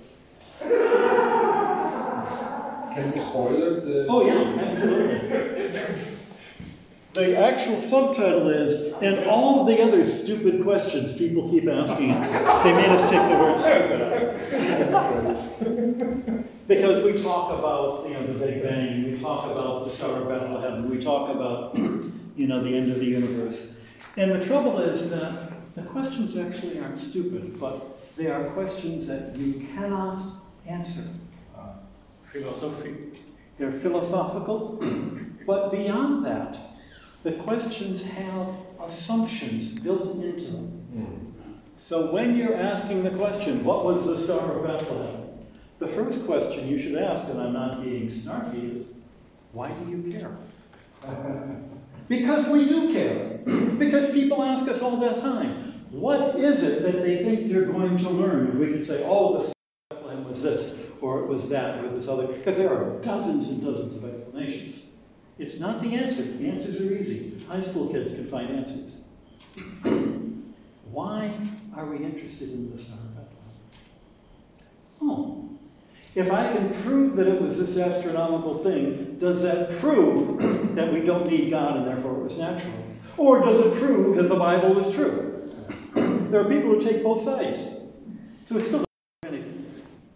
Speaker 7: Can you spoil the?
Speaker 2: Oh yeah, absolutely. The actual subtitle is, and all of the other stupid questions people keep asking us. They made us take the word stupid out. Because we talk about, the Big Bang, we talk about the Star of Bethlehem, we talk about, the end of the universe. And the trouble is that the questions actually aren't stupid, but they are questions that you cannot answer.
Speaker 3: Philosophy.
Speaker 2: They're philosophical, but beyond that, the questions have assumptions built into them. So when you're asking the question, what was the Star of Bethlehem? The first question you should ask, and I'm not being snarky, is, why do you care? Because we do care. Because people ask us all the time, what is it that they think they're going to learn? And we can say, oh, the Star of Bethlehem was this, or it was that, or this other, because there are dozens and dozens of explanations. It's not the answer. The answers are easy. High school kids can find answers. Why are we interested in the Star of Bethlehem? Oh, if I can prove that it was this astronomical thing, does that prove that we don't need God and therefore it was natural? Or does it prove that the Bible was true? There are people who take both sides. So it's still anything.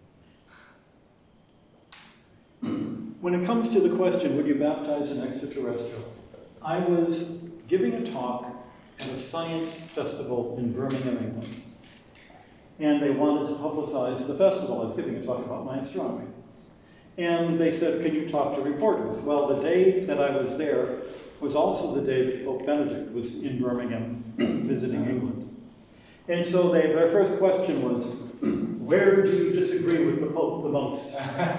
Speaker 2: When it comes to the question, would you baptize an extraterrestrial? I was giving a talk at a science festival in Birmingham, England. And they wanted to publicize the festival. I was giving a talk about my astronomy. And they said, can you talk to reporters? Well, the day that I was there was also the day that Pope Benedict was in Birmingham visiting England. And so their first question was, where do you disagree with the Pope the most?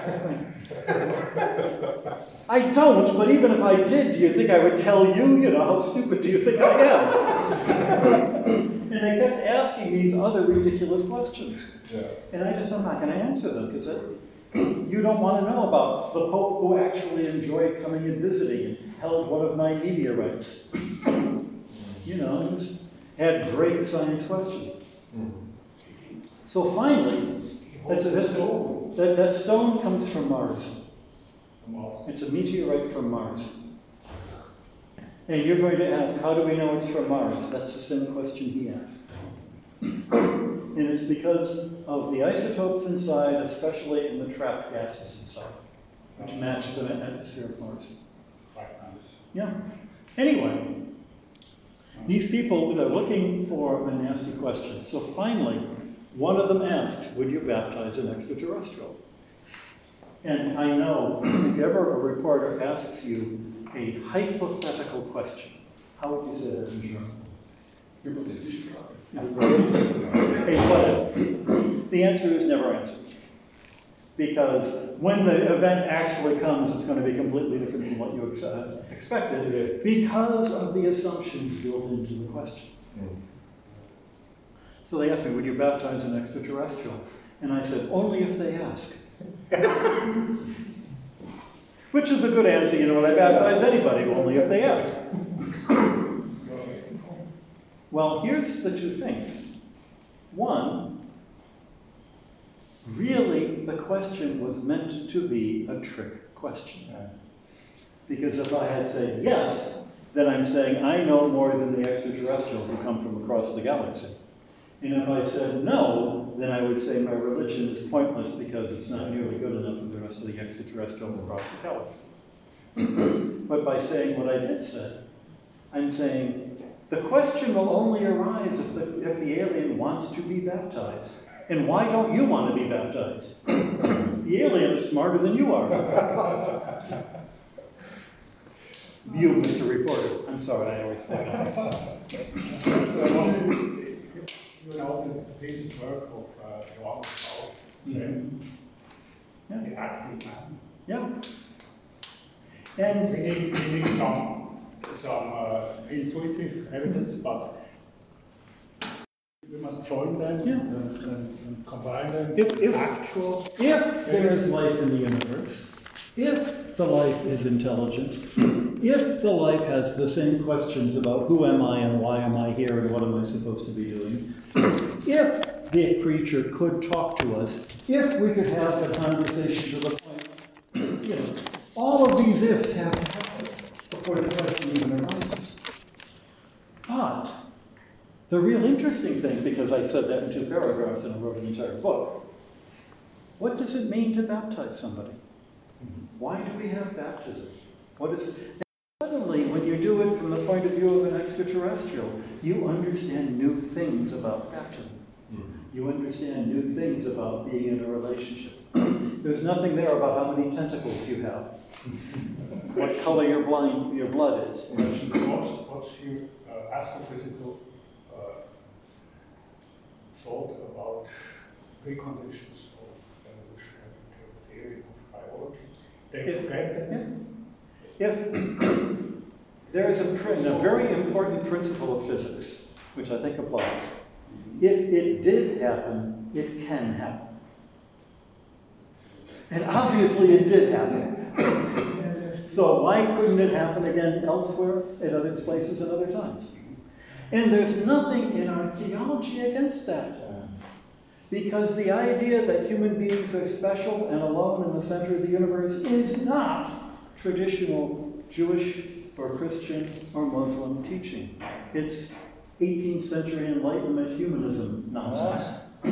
Speaker 2: I don't, but even if I did, do you think I would tell you? How stupid do you think I am? And they kept asking these other ridiculous questions.
Speaker 7: Yeah.
Speaker 2: And I'm not going to answer them, because you don't want to know about the Pope who actually enjoyed coming and visiting and held one of my meteorites. Just had great science questions. So finally, that stone comes from Mars. It's a meteorite from Mars. And you're going to ask, how do we know it's from Mars? That's the same question he asked. And it's because of the isotopes inside, especially in the trapped gases inside, which match the atmosphere of Mars. Yeah. Anyway, these people, they're looking for a nasty question. So finally, one of them asks, would you baptize an extraterrestrial? And I know if ever a reporter asks you a hypothetical question, how would you say that in German?
Speaker 7: Hypothetische Frage.
Speaker 2: The answer is never answered. Because when the event actually comes, it's going to be completely different from what you expected, because of the assumptions built into the question. So they asked me, would you baptize an extraterrestrial? And I said, only if they ask. Which is a good answer, I baptize anybody, only if they ask. Well, here's the two things. One, really, the question was meant to be a trick question. Because if I had said yes, then I'm saying I know more than the extraterrestrials who come from across the galaxy. And if I said no, then I would say my religion is pointless because it's not nearly good enough for the rest of the extraterrestrials across the galaxy. But by saying what I did say, I'm saying the question will only arise if the alien wants to be baptized. And why don't you want to be baptized? The alien is smarter than you are. You, Mr. Reporter. I'm sorry, I always think that.
Speaker 3: The thesis work of Johannes Paul, the active man.
Speaker 2: Yeah. And
Speaker 3: we need some intuitive evidence, but we must join them and combine them.
Speaker 2: If
Speaker 3: Actual.
Speaker 2: If there is life in the universe, if the life is intelligent, if the life has the same questions about who am I and why am I here and what am I supposed to be doing, if the creature could talk to us, if we could have a conversation to the point, all of these ifs have to happen before the question even arises. But the real interesting thing, because I said that in 2 paragraphs and I wrote an entire book, what does it mean to baptize somebody? Why do we have baptism? What is it? And suddenly, when you do it from the point of view of an extraterrestrial, you understand new things about baptism. You understand new things about being in a relationship. There's nothing there about how many tentacles you have, what color your blood is.
Speaker 3: What's your astrophysical thought about preconditions of evolutionary theory of biology? They forget that.
Speaker 2: If there is a very important principle of physics, which I think applies. If it did happen, it can happen. And obviously it did happen. So why couldn't it happen again elsewhere, at other places, at other times? And there's nothing in our theology against that. Because the idea that human beings are special and alone in the center of the universe is not traditional Jewish or Christian or Muslim teaching. It's 18th century Enlightenment humanism nonsense.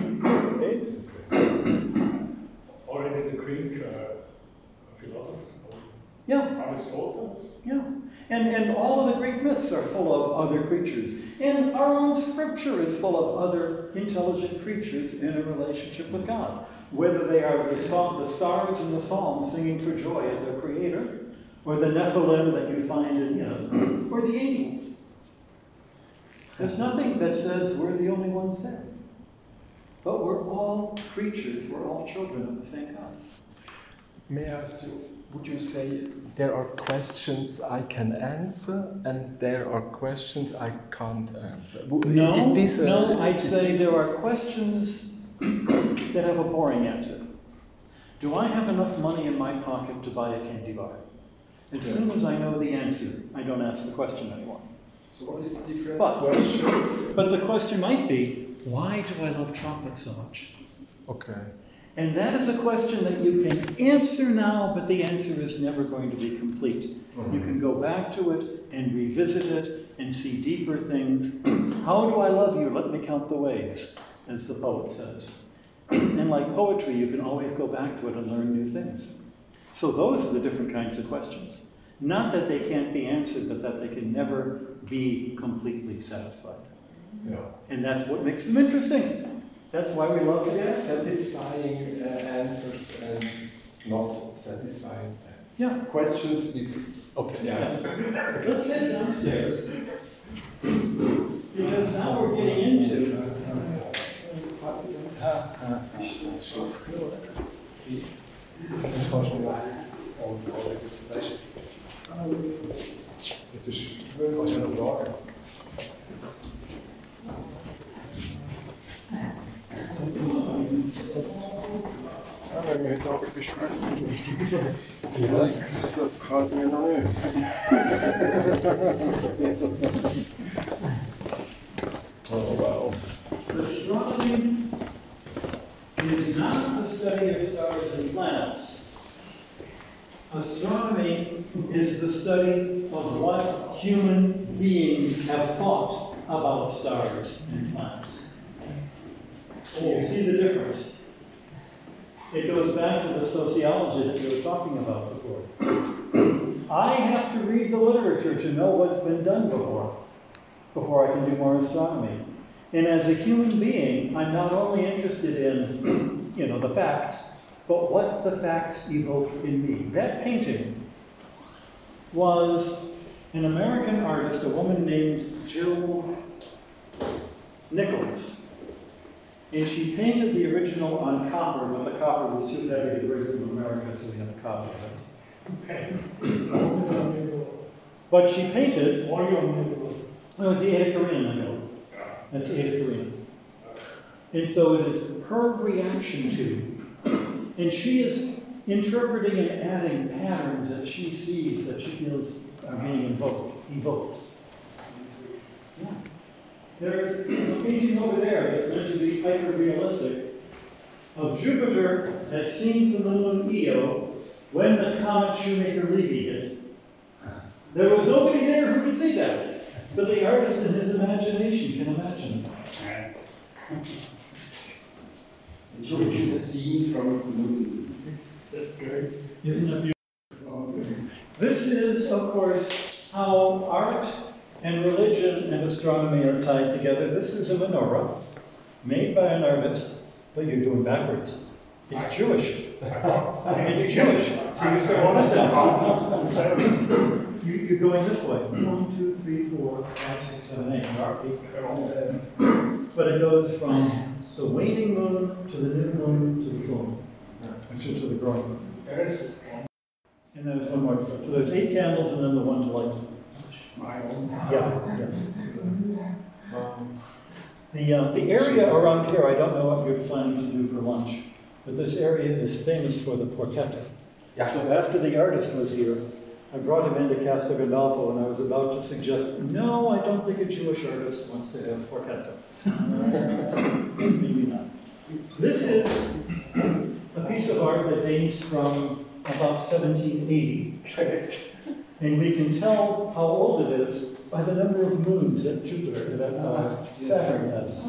Speaker 3: Already the Greek philosophers, Aristotle.
Speaker 2: Yeah. And all of the Greek myths are full of other creatures. And our own scripture is full of other intelligent creatures in a relationship with God. Whether they are the stars in the Psalms singing for joy at their creator, or the Nephilim that you find in, or the angels. There's nothing that says we're the only ones there. But we're all creatures, we're all children of the same God.
Speaker 7: May I ask you, would you say there are questions I can answer and there are questions I can't answer?
Speaker 2: No, I'd say there are questions that have a boring answer. Do I have enough money in my pocket to buy a candy bar? As soon as I know the answer, I don't ask the question anymore.
Speaker 7: So what is the difference? Questions?
Speaker 2: But the question might be, why do I love chocolate so much?
Speaker 7: Okay.
Speaker 2: And that is a question that you can answer now, but the answer is never going to be complete. Mm-hmm. You can go back to it and revisit it and see deeper things. How do I love you? Let me count the waves, as the poet says. And like poetry, you can always go back to it and learn new things. So those are the different kinds of questions. Not that they can't be answered, but that they can never be completely satisfied.
Speaker 7: Yeah.
Speaker 2: And that's what makes them interesting. That's why we love to ask.
Speaker 7: Satisfying answers and not satisfying questions. Okay.
Speaker 2: Yeah. Let's head downstairs. Because now we're getting into
Speaker 1: Wenn wir heute Abend besprechen. Alex, das kann mir noch nicht. Oh, wow.
Speaker 2: Astronomy is not the study of stars and planets. Astronomy is the study of what human beings have thought about stars and planets. You see the difference. It goes back to the sociology that we were talking about before. I have to read the literature to know what's been done before I can do more astronomy. And as a human being, I'm not only interested in, the facts, but what the facts evoke in me. That painting was an American artist, a woman named Jill Nichols. And she painted the original on copper, but the copper was too heavy to bring from America, so we had a copy of it.
Speaker 3: Okay.
Speaker 2: But she painted.
Speaker 3: Volume.
Speaker 2: No, it's the Ada Karina Nagel. That's Ada Karina. And so it is her reaction to, and she is interpreting and adding patterns that she sees that she feels are being evoked. Yeah. There's a painting over there that's meant to be hyper-realistic of Jupiter as seen from the moon Io when the comet Shoemaker-Levy hit. There was nobody there who could see that, but the artist in his imagination can imagine it.
Speaker 9: Jupiter seen from its moon.
Speaker 2: That's great. Isn't it beautiful? This is, of course, how art and religion and astronomy are tied together. This is a menorah made by an artist, but you're doing backwards. It's Jewish. It's Jewish. So you start on this end. You're going this way. 1, 2, 3, 4, 5, 6, 7, 8. But it goes from the waning moon to the new moon to the full moon, actually to the growing moon. And then there's one more. So there's 8 candles and then the one to light. Yeah. The area around here, I don't know what you're planning to do for lunch, but this area is famous for the porchetta. Yeah. So after the artist was here, I brought him into Castel Gandolfo and I was about to suggest, no, I don't think a Jewish artist wants to have porchetta. Maybe not. This is a piece of art that dates from about 1780. And we can tell how old it is by the number of moons that Saturn has.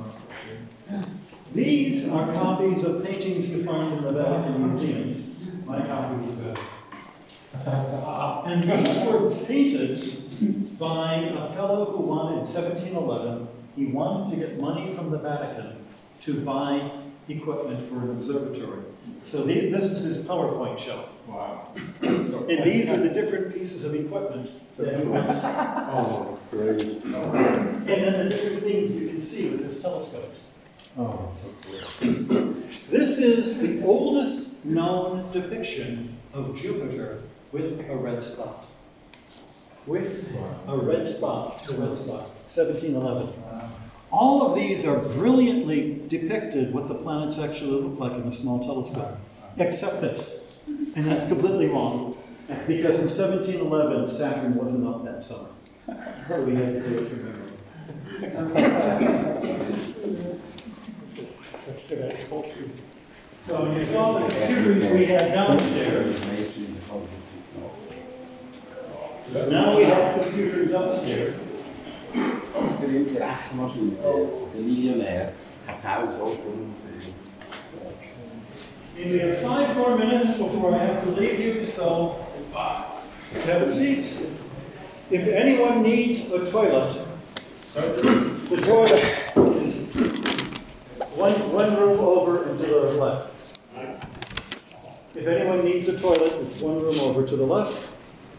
Speaker 2: These are copies of paintings you find in the Vatican museums. My copies of that. And these were painted by a fellow who wanted, in 1711, he wanted to get money from the Vatican to buy equipment for an observatory. So this is his PowerPoint show.
Speaker 9: Wow.
Speaker 2: And these are the different pieces of equipment that he wants.
Speaker 1: Oh, great.
Speaker 2: And then the different things you can see with his telescopes.
Speaker 1: Oh, so cool.
Speaker 2: This is the oldest known depiction of Jupiter with a red spot. With a red spot, 1711. All of these are brilliantly depicted what the planets actually look like in a small telescope, except this. And that's completely wrong, because in 1711, Saturn wasn't up that summer. So we had to do it from memory. So you saw the computers we had downstairs. Now we have computers upstairs.
Speaker 9: Das berühmte Rechenmaschine, der Millionär, hat das Haus auch von uns.
Speaker 2: And we have 5 more minutes before I have to leave you, so have a seat. If anyone needs a toilet, the toilet is one room over and to the left. If anyone needs a toilet, it's one room over to the left.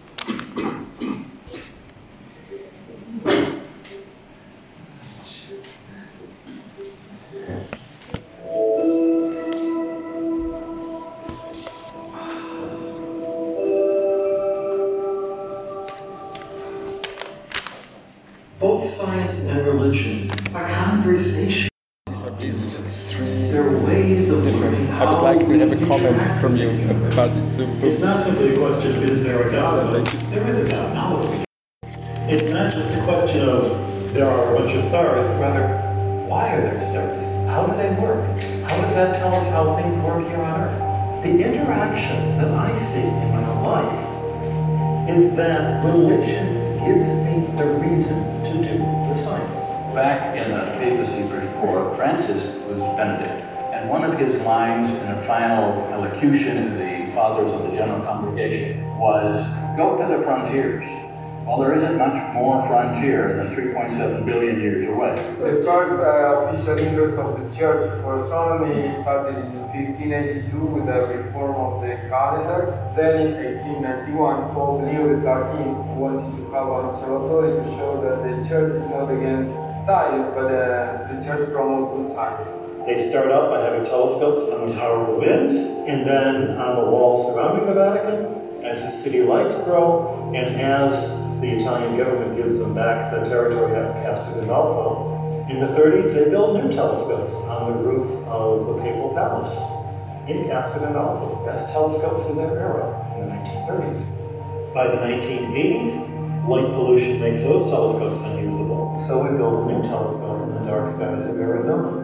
Speaker 2: Both science and religion are conversation.
Speaker 7: These are these 3
Speaker 2: There are ways of
Speaker 7: different. I would like to have a comment from you about this book.
Speaker 2: It's not simply a question of is there a God, but there is a God. Now, it's not just a question of there are a bunch of stars, but rather, why are there stars? How do they work? How does that tell us how things work here on Earth? The interaction that I see in my own life is that religion gives me the reason to do the science.
Speaker 10: Back in the papacy before Francis was Benedict, and one of his lines in a final elocution to the fathers of the General Congregation was, "Go to the frontiers." Well, there isn't much more frontier than 3.7 billion years away.
Speaker 5: The first official interest of the Church for astronomy started in 1582 with the reform of the calendar. Then in 1891, Pope Leo XIII wanted to have an observatory to show that the Church is not against science, but the Church promotes good science.
Speaker 2: They start out by having telescopes on the Tower of the Winds, and then on the walls surrounding the Vatican, as the city lights grow, and as the Italian government gives them back the territory at Castel Gandolfo, In the 30s, they built new telescopes on the roof of the Papal Palace in Casper and Alpha, best telescopes of their era in the 1930s. By the 1980s, light pollution makes those telescopes unusable, so we built a new telescope in the dark skies of Arizona.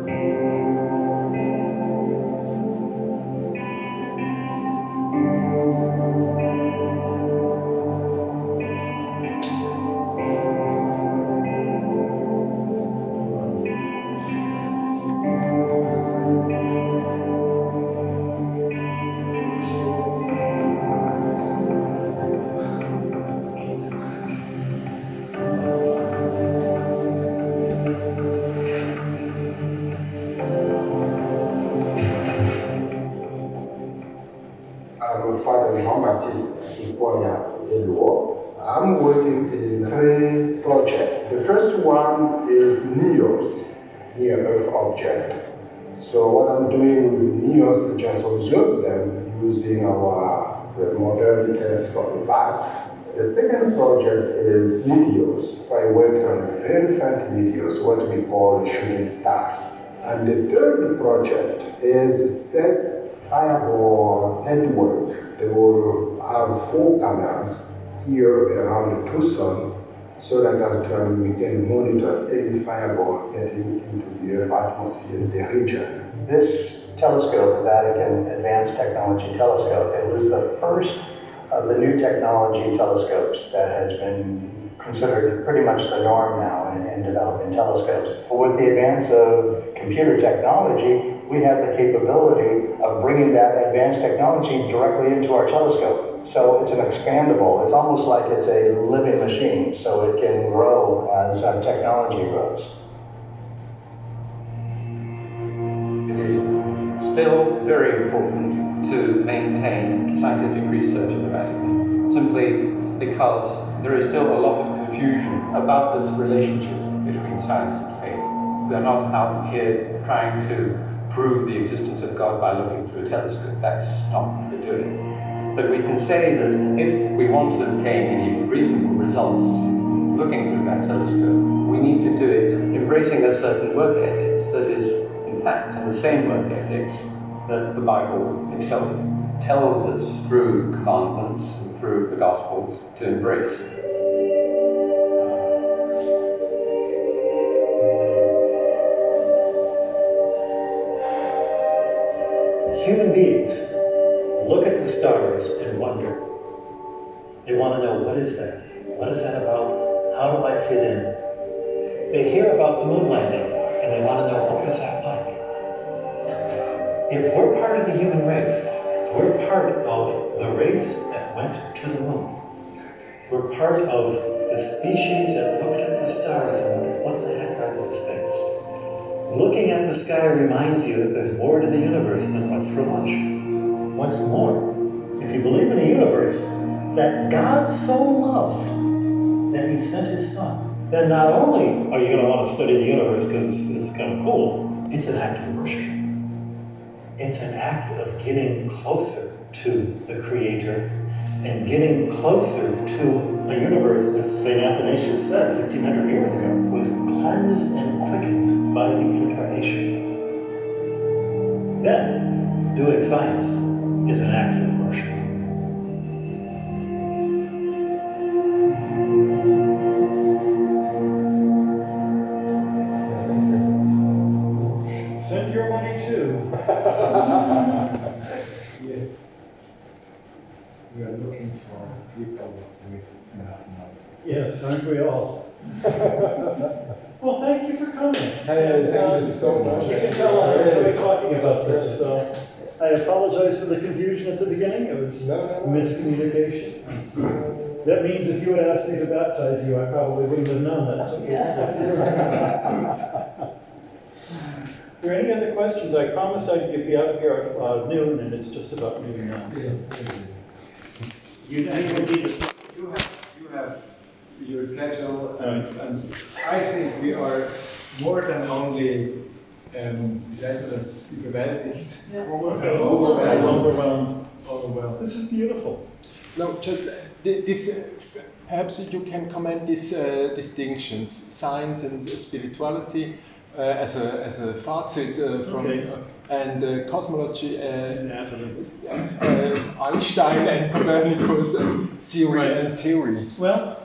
Speaker 11: Father Jean-Baptiste Ipoya-Eluo. I'm working in 3 projects. The first one is NEOS, Near Earth Object. So what I'm doing with NEOS is just observe them using our modern telescope VAT. The second project is meteors. I worked on very faint meteors, what we call shooting stars. And the third project is set fireball network. They will have 4 cameras here around Tucson so that we can monitor any fireball getting into the Earth atmosphere in the region.
Speaker 10: This telescope, the Vatican Advanced Technology Telescope, it was the first of the new technology telescopes that has been considered pretty much the norm now in developing telescopes. With the advance of computer technology, we have the capability of bringing that advanced technology directly into our telescope. So it's an expandable, it's almost like it's a living machine, so it can grow as technology grows.
Speaker 12: It is still very important to maintain scientific research in the Vatican, simply because there is still a lot of confusion about this relationship between science and faith. We are not out here trying to prove the existence of God by looking through a telescope. That's not what we're doing. But we can say that if we want to obtain any reasonable results looking through that telescope, we need to do it embracing a certain work ethics that is, in fact, the same work ethics that the Bible itself tells us through commandments and through the Gospels to embrace.
Speaker 2: Human beings look at the stars and wonder. They want to know, what is that? What is that about? How do I fit in? They hear about the moon landing and they want to know, what was that like? If we're part of the human race, we're part of the race that went to the moon. We're part of the species that looked at the stars and wondered, what the heck are those things? Looking at the sky reminds you that there's more to the universe than what's for lunch. What's more, if you believe in a universe that God so loved that he sent his son, then not only are you going to want to study the universe because it's kind of cool, it's an act of worship. It's an act of getting closer to the Creator and getting closer to a universe, as St. Athanasius said 1,500 years ago, was cleansed and quickened by the Incarnation. Then, doing science is an act of worship. Send your money too.
Speaker 13: Yes. We are looking for people with enough money.
Speaker 2: Yes, aren't we all? Well, thank you for coming.
Speaker 13: Hey, thank you so much.
Speaker 2: You can tell I enjoy talking about this, so I apologize for the confusion at the beginning. It was miscommunication. That means if you had asked me to baptize you, I probably wouldn't have known that. Are there any other questions? I promised I'd be out here at noon, and it's just about noon now.
Speaker 13: Yes.
Speaker 2: You
Speaker 13: have your schedule, and I think we are more than only, wie sagt man das, überwältigt?
Speaker 2: Overwhelmed.
Speaker 13: Overwhelmed.
Speaker 2: This is beautiful.
Speaker 7: No, just Perhaps you can comment these distinctions, science and spirituality, as a fazit from and cosmology, Einstein and Copernicus, theory and theory.
Speaker 2: Well,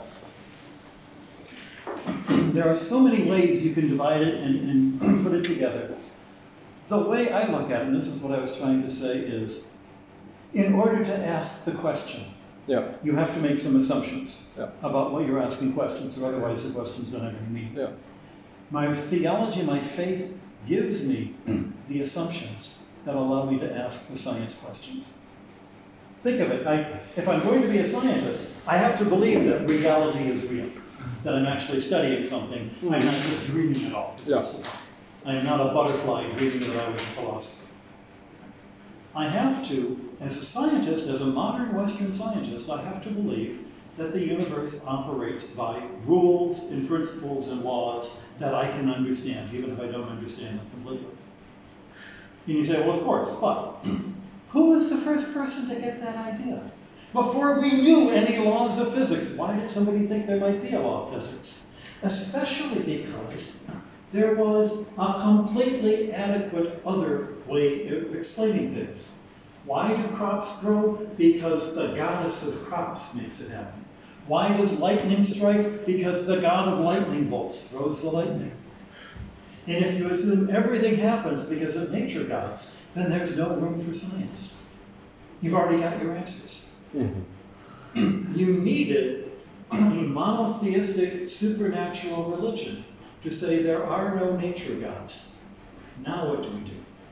Speaker 2: there are so many ways you can divide it and put it together. The way I look at it, and this is what I was trying to say, is in order to ask the question, you have to make some assumptions about what you're asking questions, or otherwise the questions don't have any meaning. My theology, my faith gives me the assumptions that allow me to ask the science questions. Think of it. If I'm going to be a scientist, I have to believe that reality is real, that I'm actually studying something. I'm not just dreaming it all. I am not a butterfly dreaming that I was a philosopher. I have to, as a scientist, as a modern Western scientist, I have to believe that the universe operates by rules and principles and laws that I can understand, even if I don't understand them completely. And you say, well, of course, but who was the first person to get that idea? Before we knew any laws of physics, why did somebody think there might be a law of physics? Especially because there was a completely adequate other way of explaining things. Why do crops grow? Because the goddess of crops makes it happen. Why does lightning strike? Because the god of lightning bolts throws the lightning. And if you assume everything happens because of nature gods, then there's no room for science. You've already got your answers. You needed a monotheistic supernatural religion to say there are no nature gods. Now what do we do?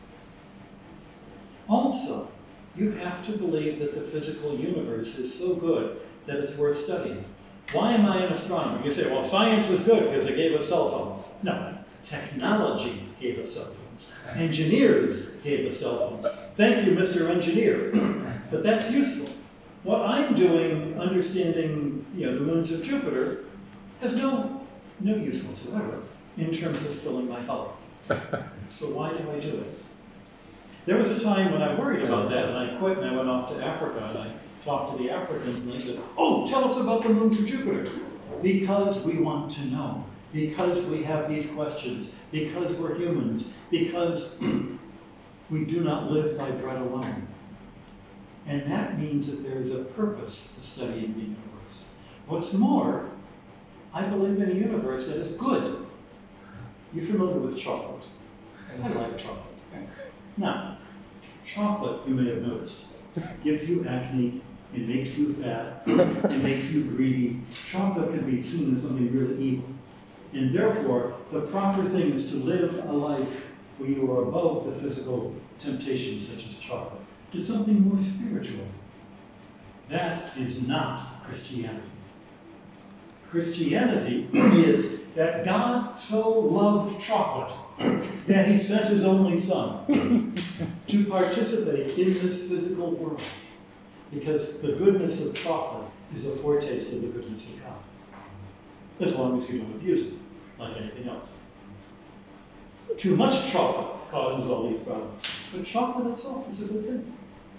Speaker 2: Also, you have to believe that the physical universe is so good that it's worth studying. Why am I an astronomer? You say, well, science was good because it gave us cell phones. No, technology gave us cell phones. Engineers gave us cell phones. Thank you, Mr. Engineer. But that's useful. What I'm doing, understanding the moons of Jupiter, has no use whatsoever in terms of filling my heart. So why do I do it? There was a time when I worried about that, and I quit and I went off to Africa, and I talked to the Africans, and they said, oh, tell us about the moons of Jupiter. Because we want to know. Because we have these questions. Because we're humans. Because we do not live by bread alone. And that means that there is a purpose to studying the universe. What's more, I believe in a universe that is good. You're familiar with chocolate. I like chocolate. Now, chocolate, you may have noticed, gives you acne, it makes you fat, it makes you greedy. Chocolate can be seen as something really evil. And therefore, the proper thing is to live a life where you are above the physical temptations such as chocolate, to something more spiritual. That is not Christianity. Christianity is that God so loved chocolate that he sent his only son to participate in this physical world. Because the goodness of chocolate is a foretaste of the goodness of God. As long as you don't abuse it, like anything else. Too much chocolate causes all these problems. But chocolate itself is a good thing.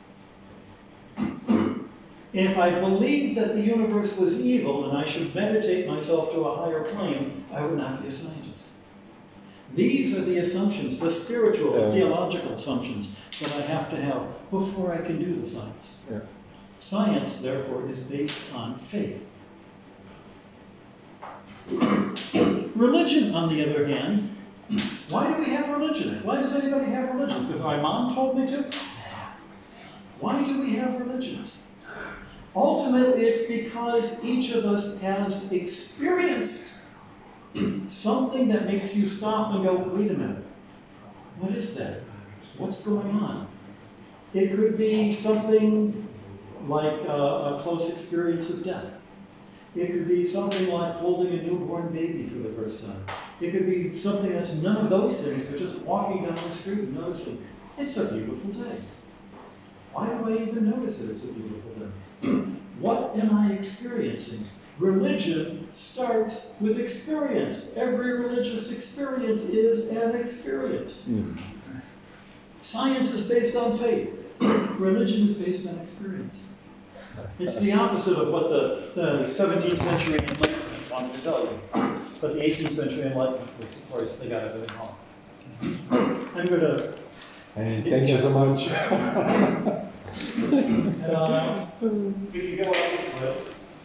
Speaker 2: If I believed that the universe was evil and I should meditate myself to a higher plane, I would not be a scientist. These are the assumptions, the spiritual, the theological assumptions that I have to have before I can do the science. Science, therefore, is based on faith. Religion, on the other hand, why do we have religions? Why does anybody have religions? Because my mom told me to? Why do we have religions? Ultimately, it's because each of us has experienced something that makes you stop and go, wait a minute, what is that? What's going on? It could be something like a close experience of death. It could be something like holding a newborn baby for the first time. It could be something that's none of those things, but just walking down the street and noticing, it's a beautiful day. Why do I even notice that it's a beautiful day? What am I experiencing? Religion starts with experience. Every religious experience is an experience. Science is based on faith. Religion is based on experience. It's the opposite of what the 17th century Enlightenment wanted to tell you. But the 18th century Enlightenment was, of course, they got everything wrong. I'm going to...
Speaker 7: Thank you so much.
Speaker 2: We can go out this way.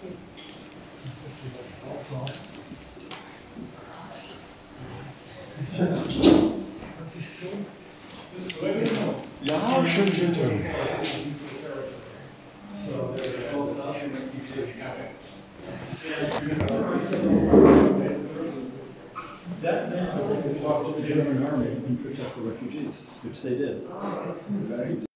Speaker 7: Ja, schön, schön, schön.
Speaker 2: That meant that they could talk to the German army and protect the refugees, which they did.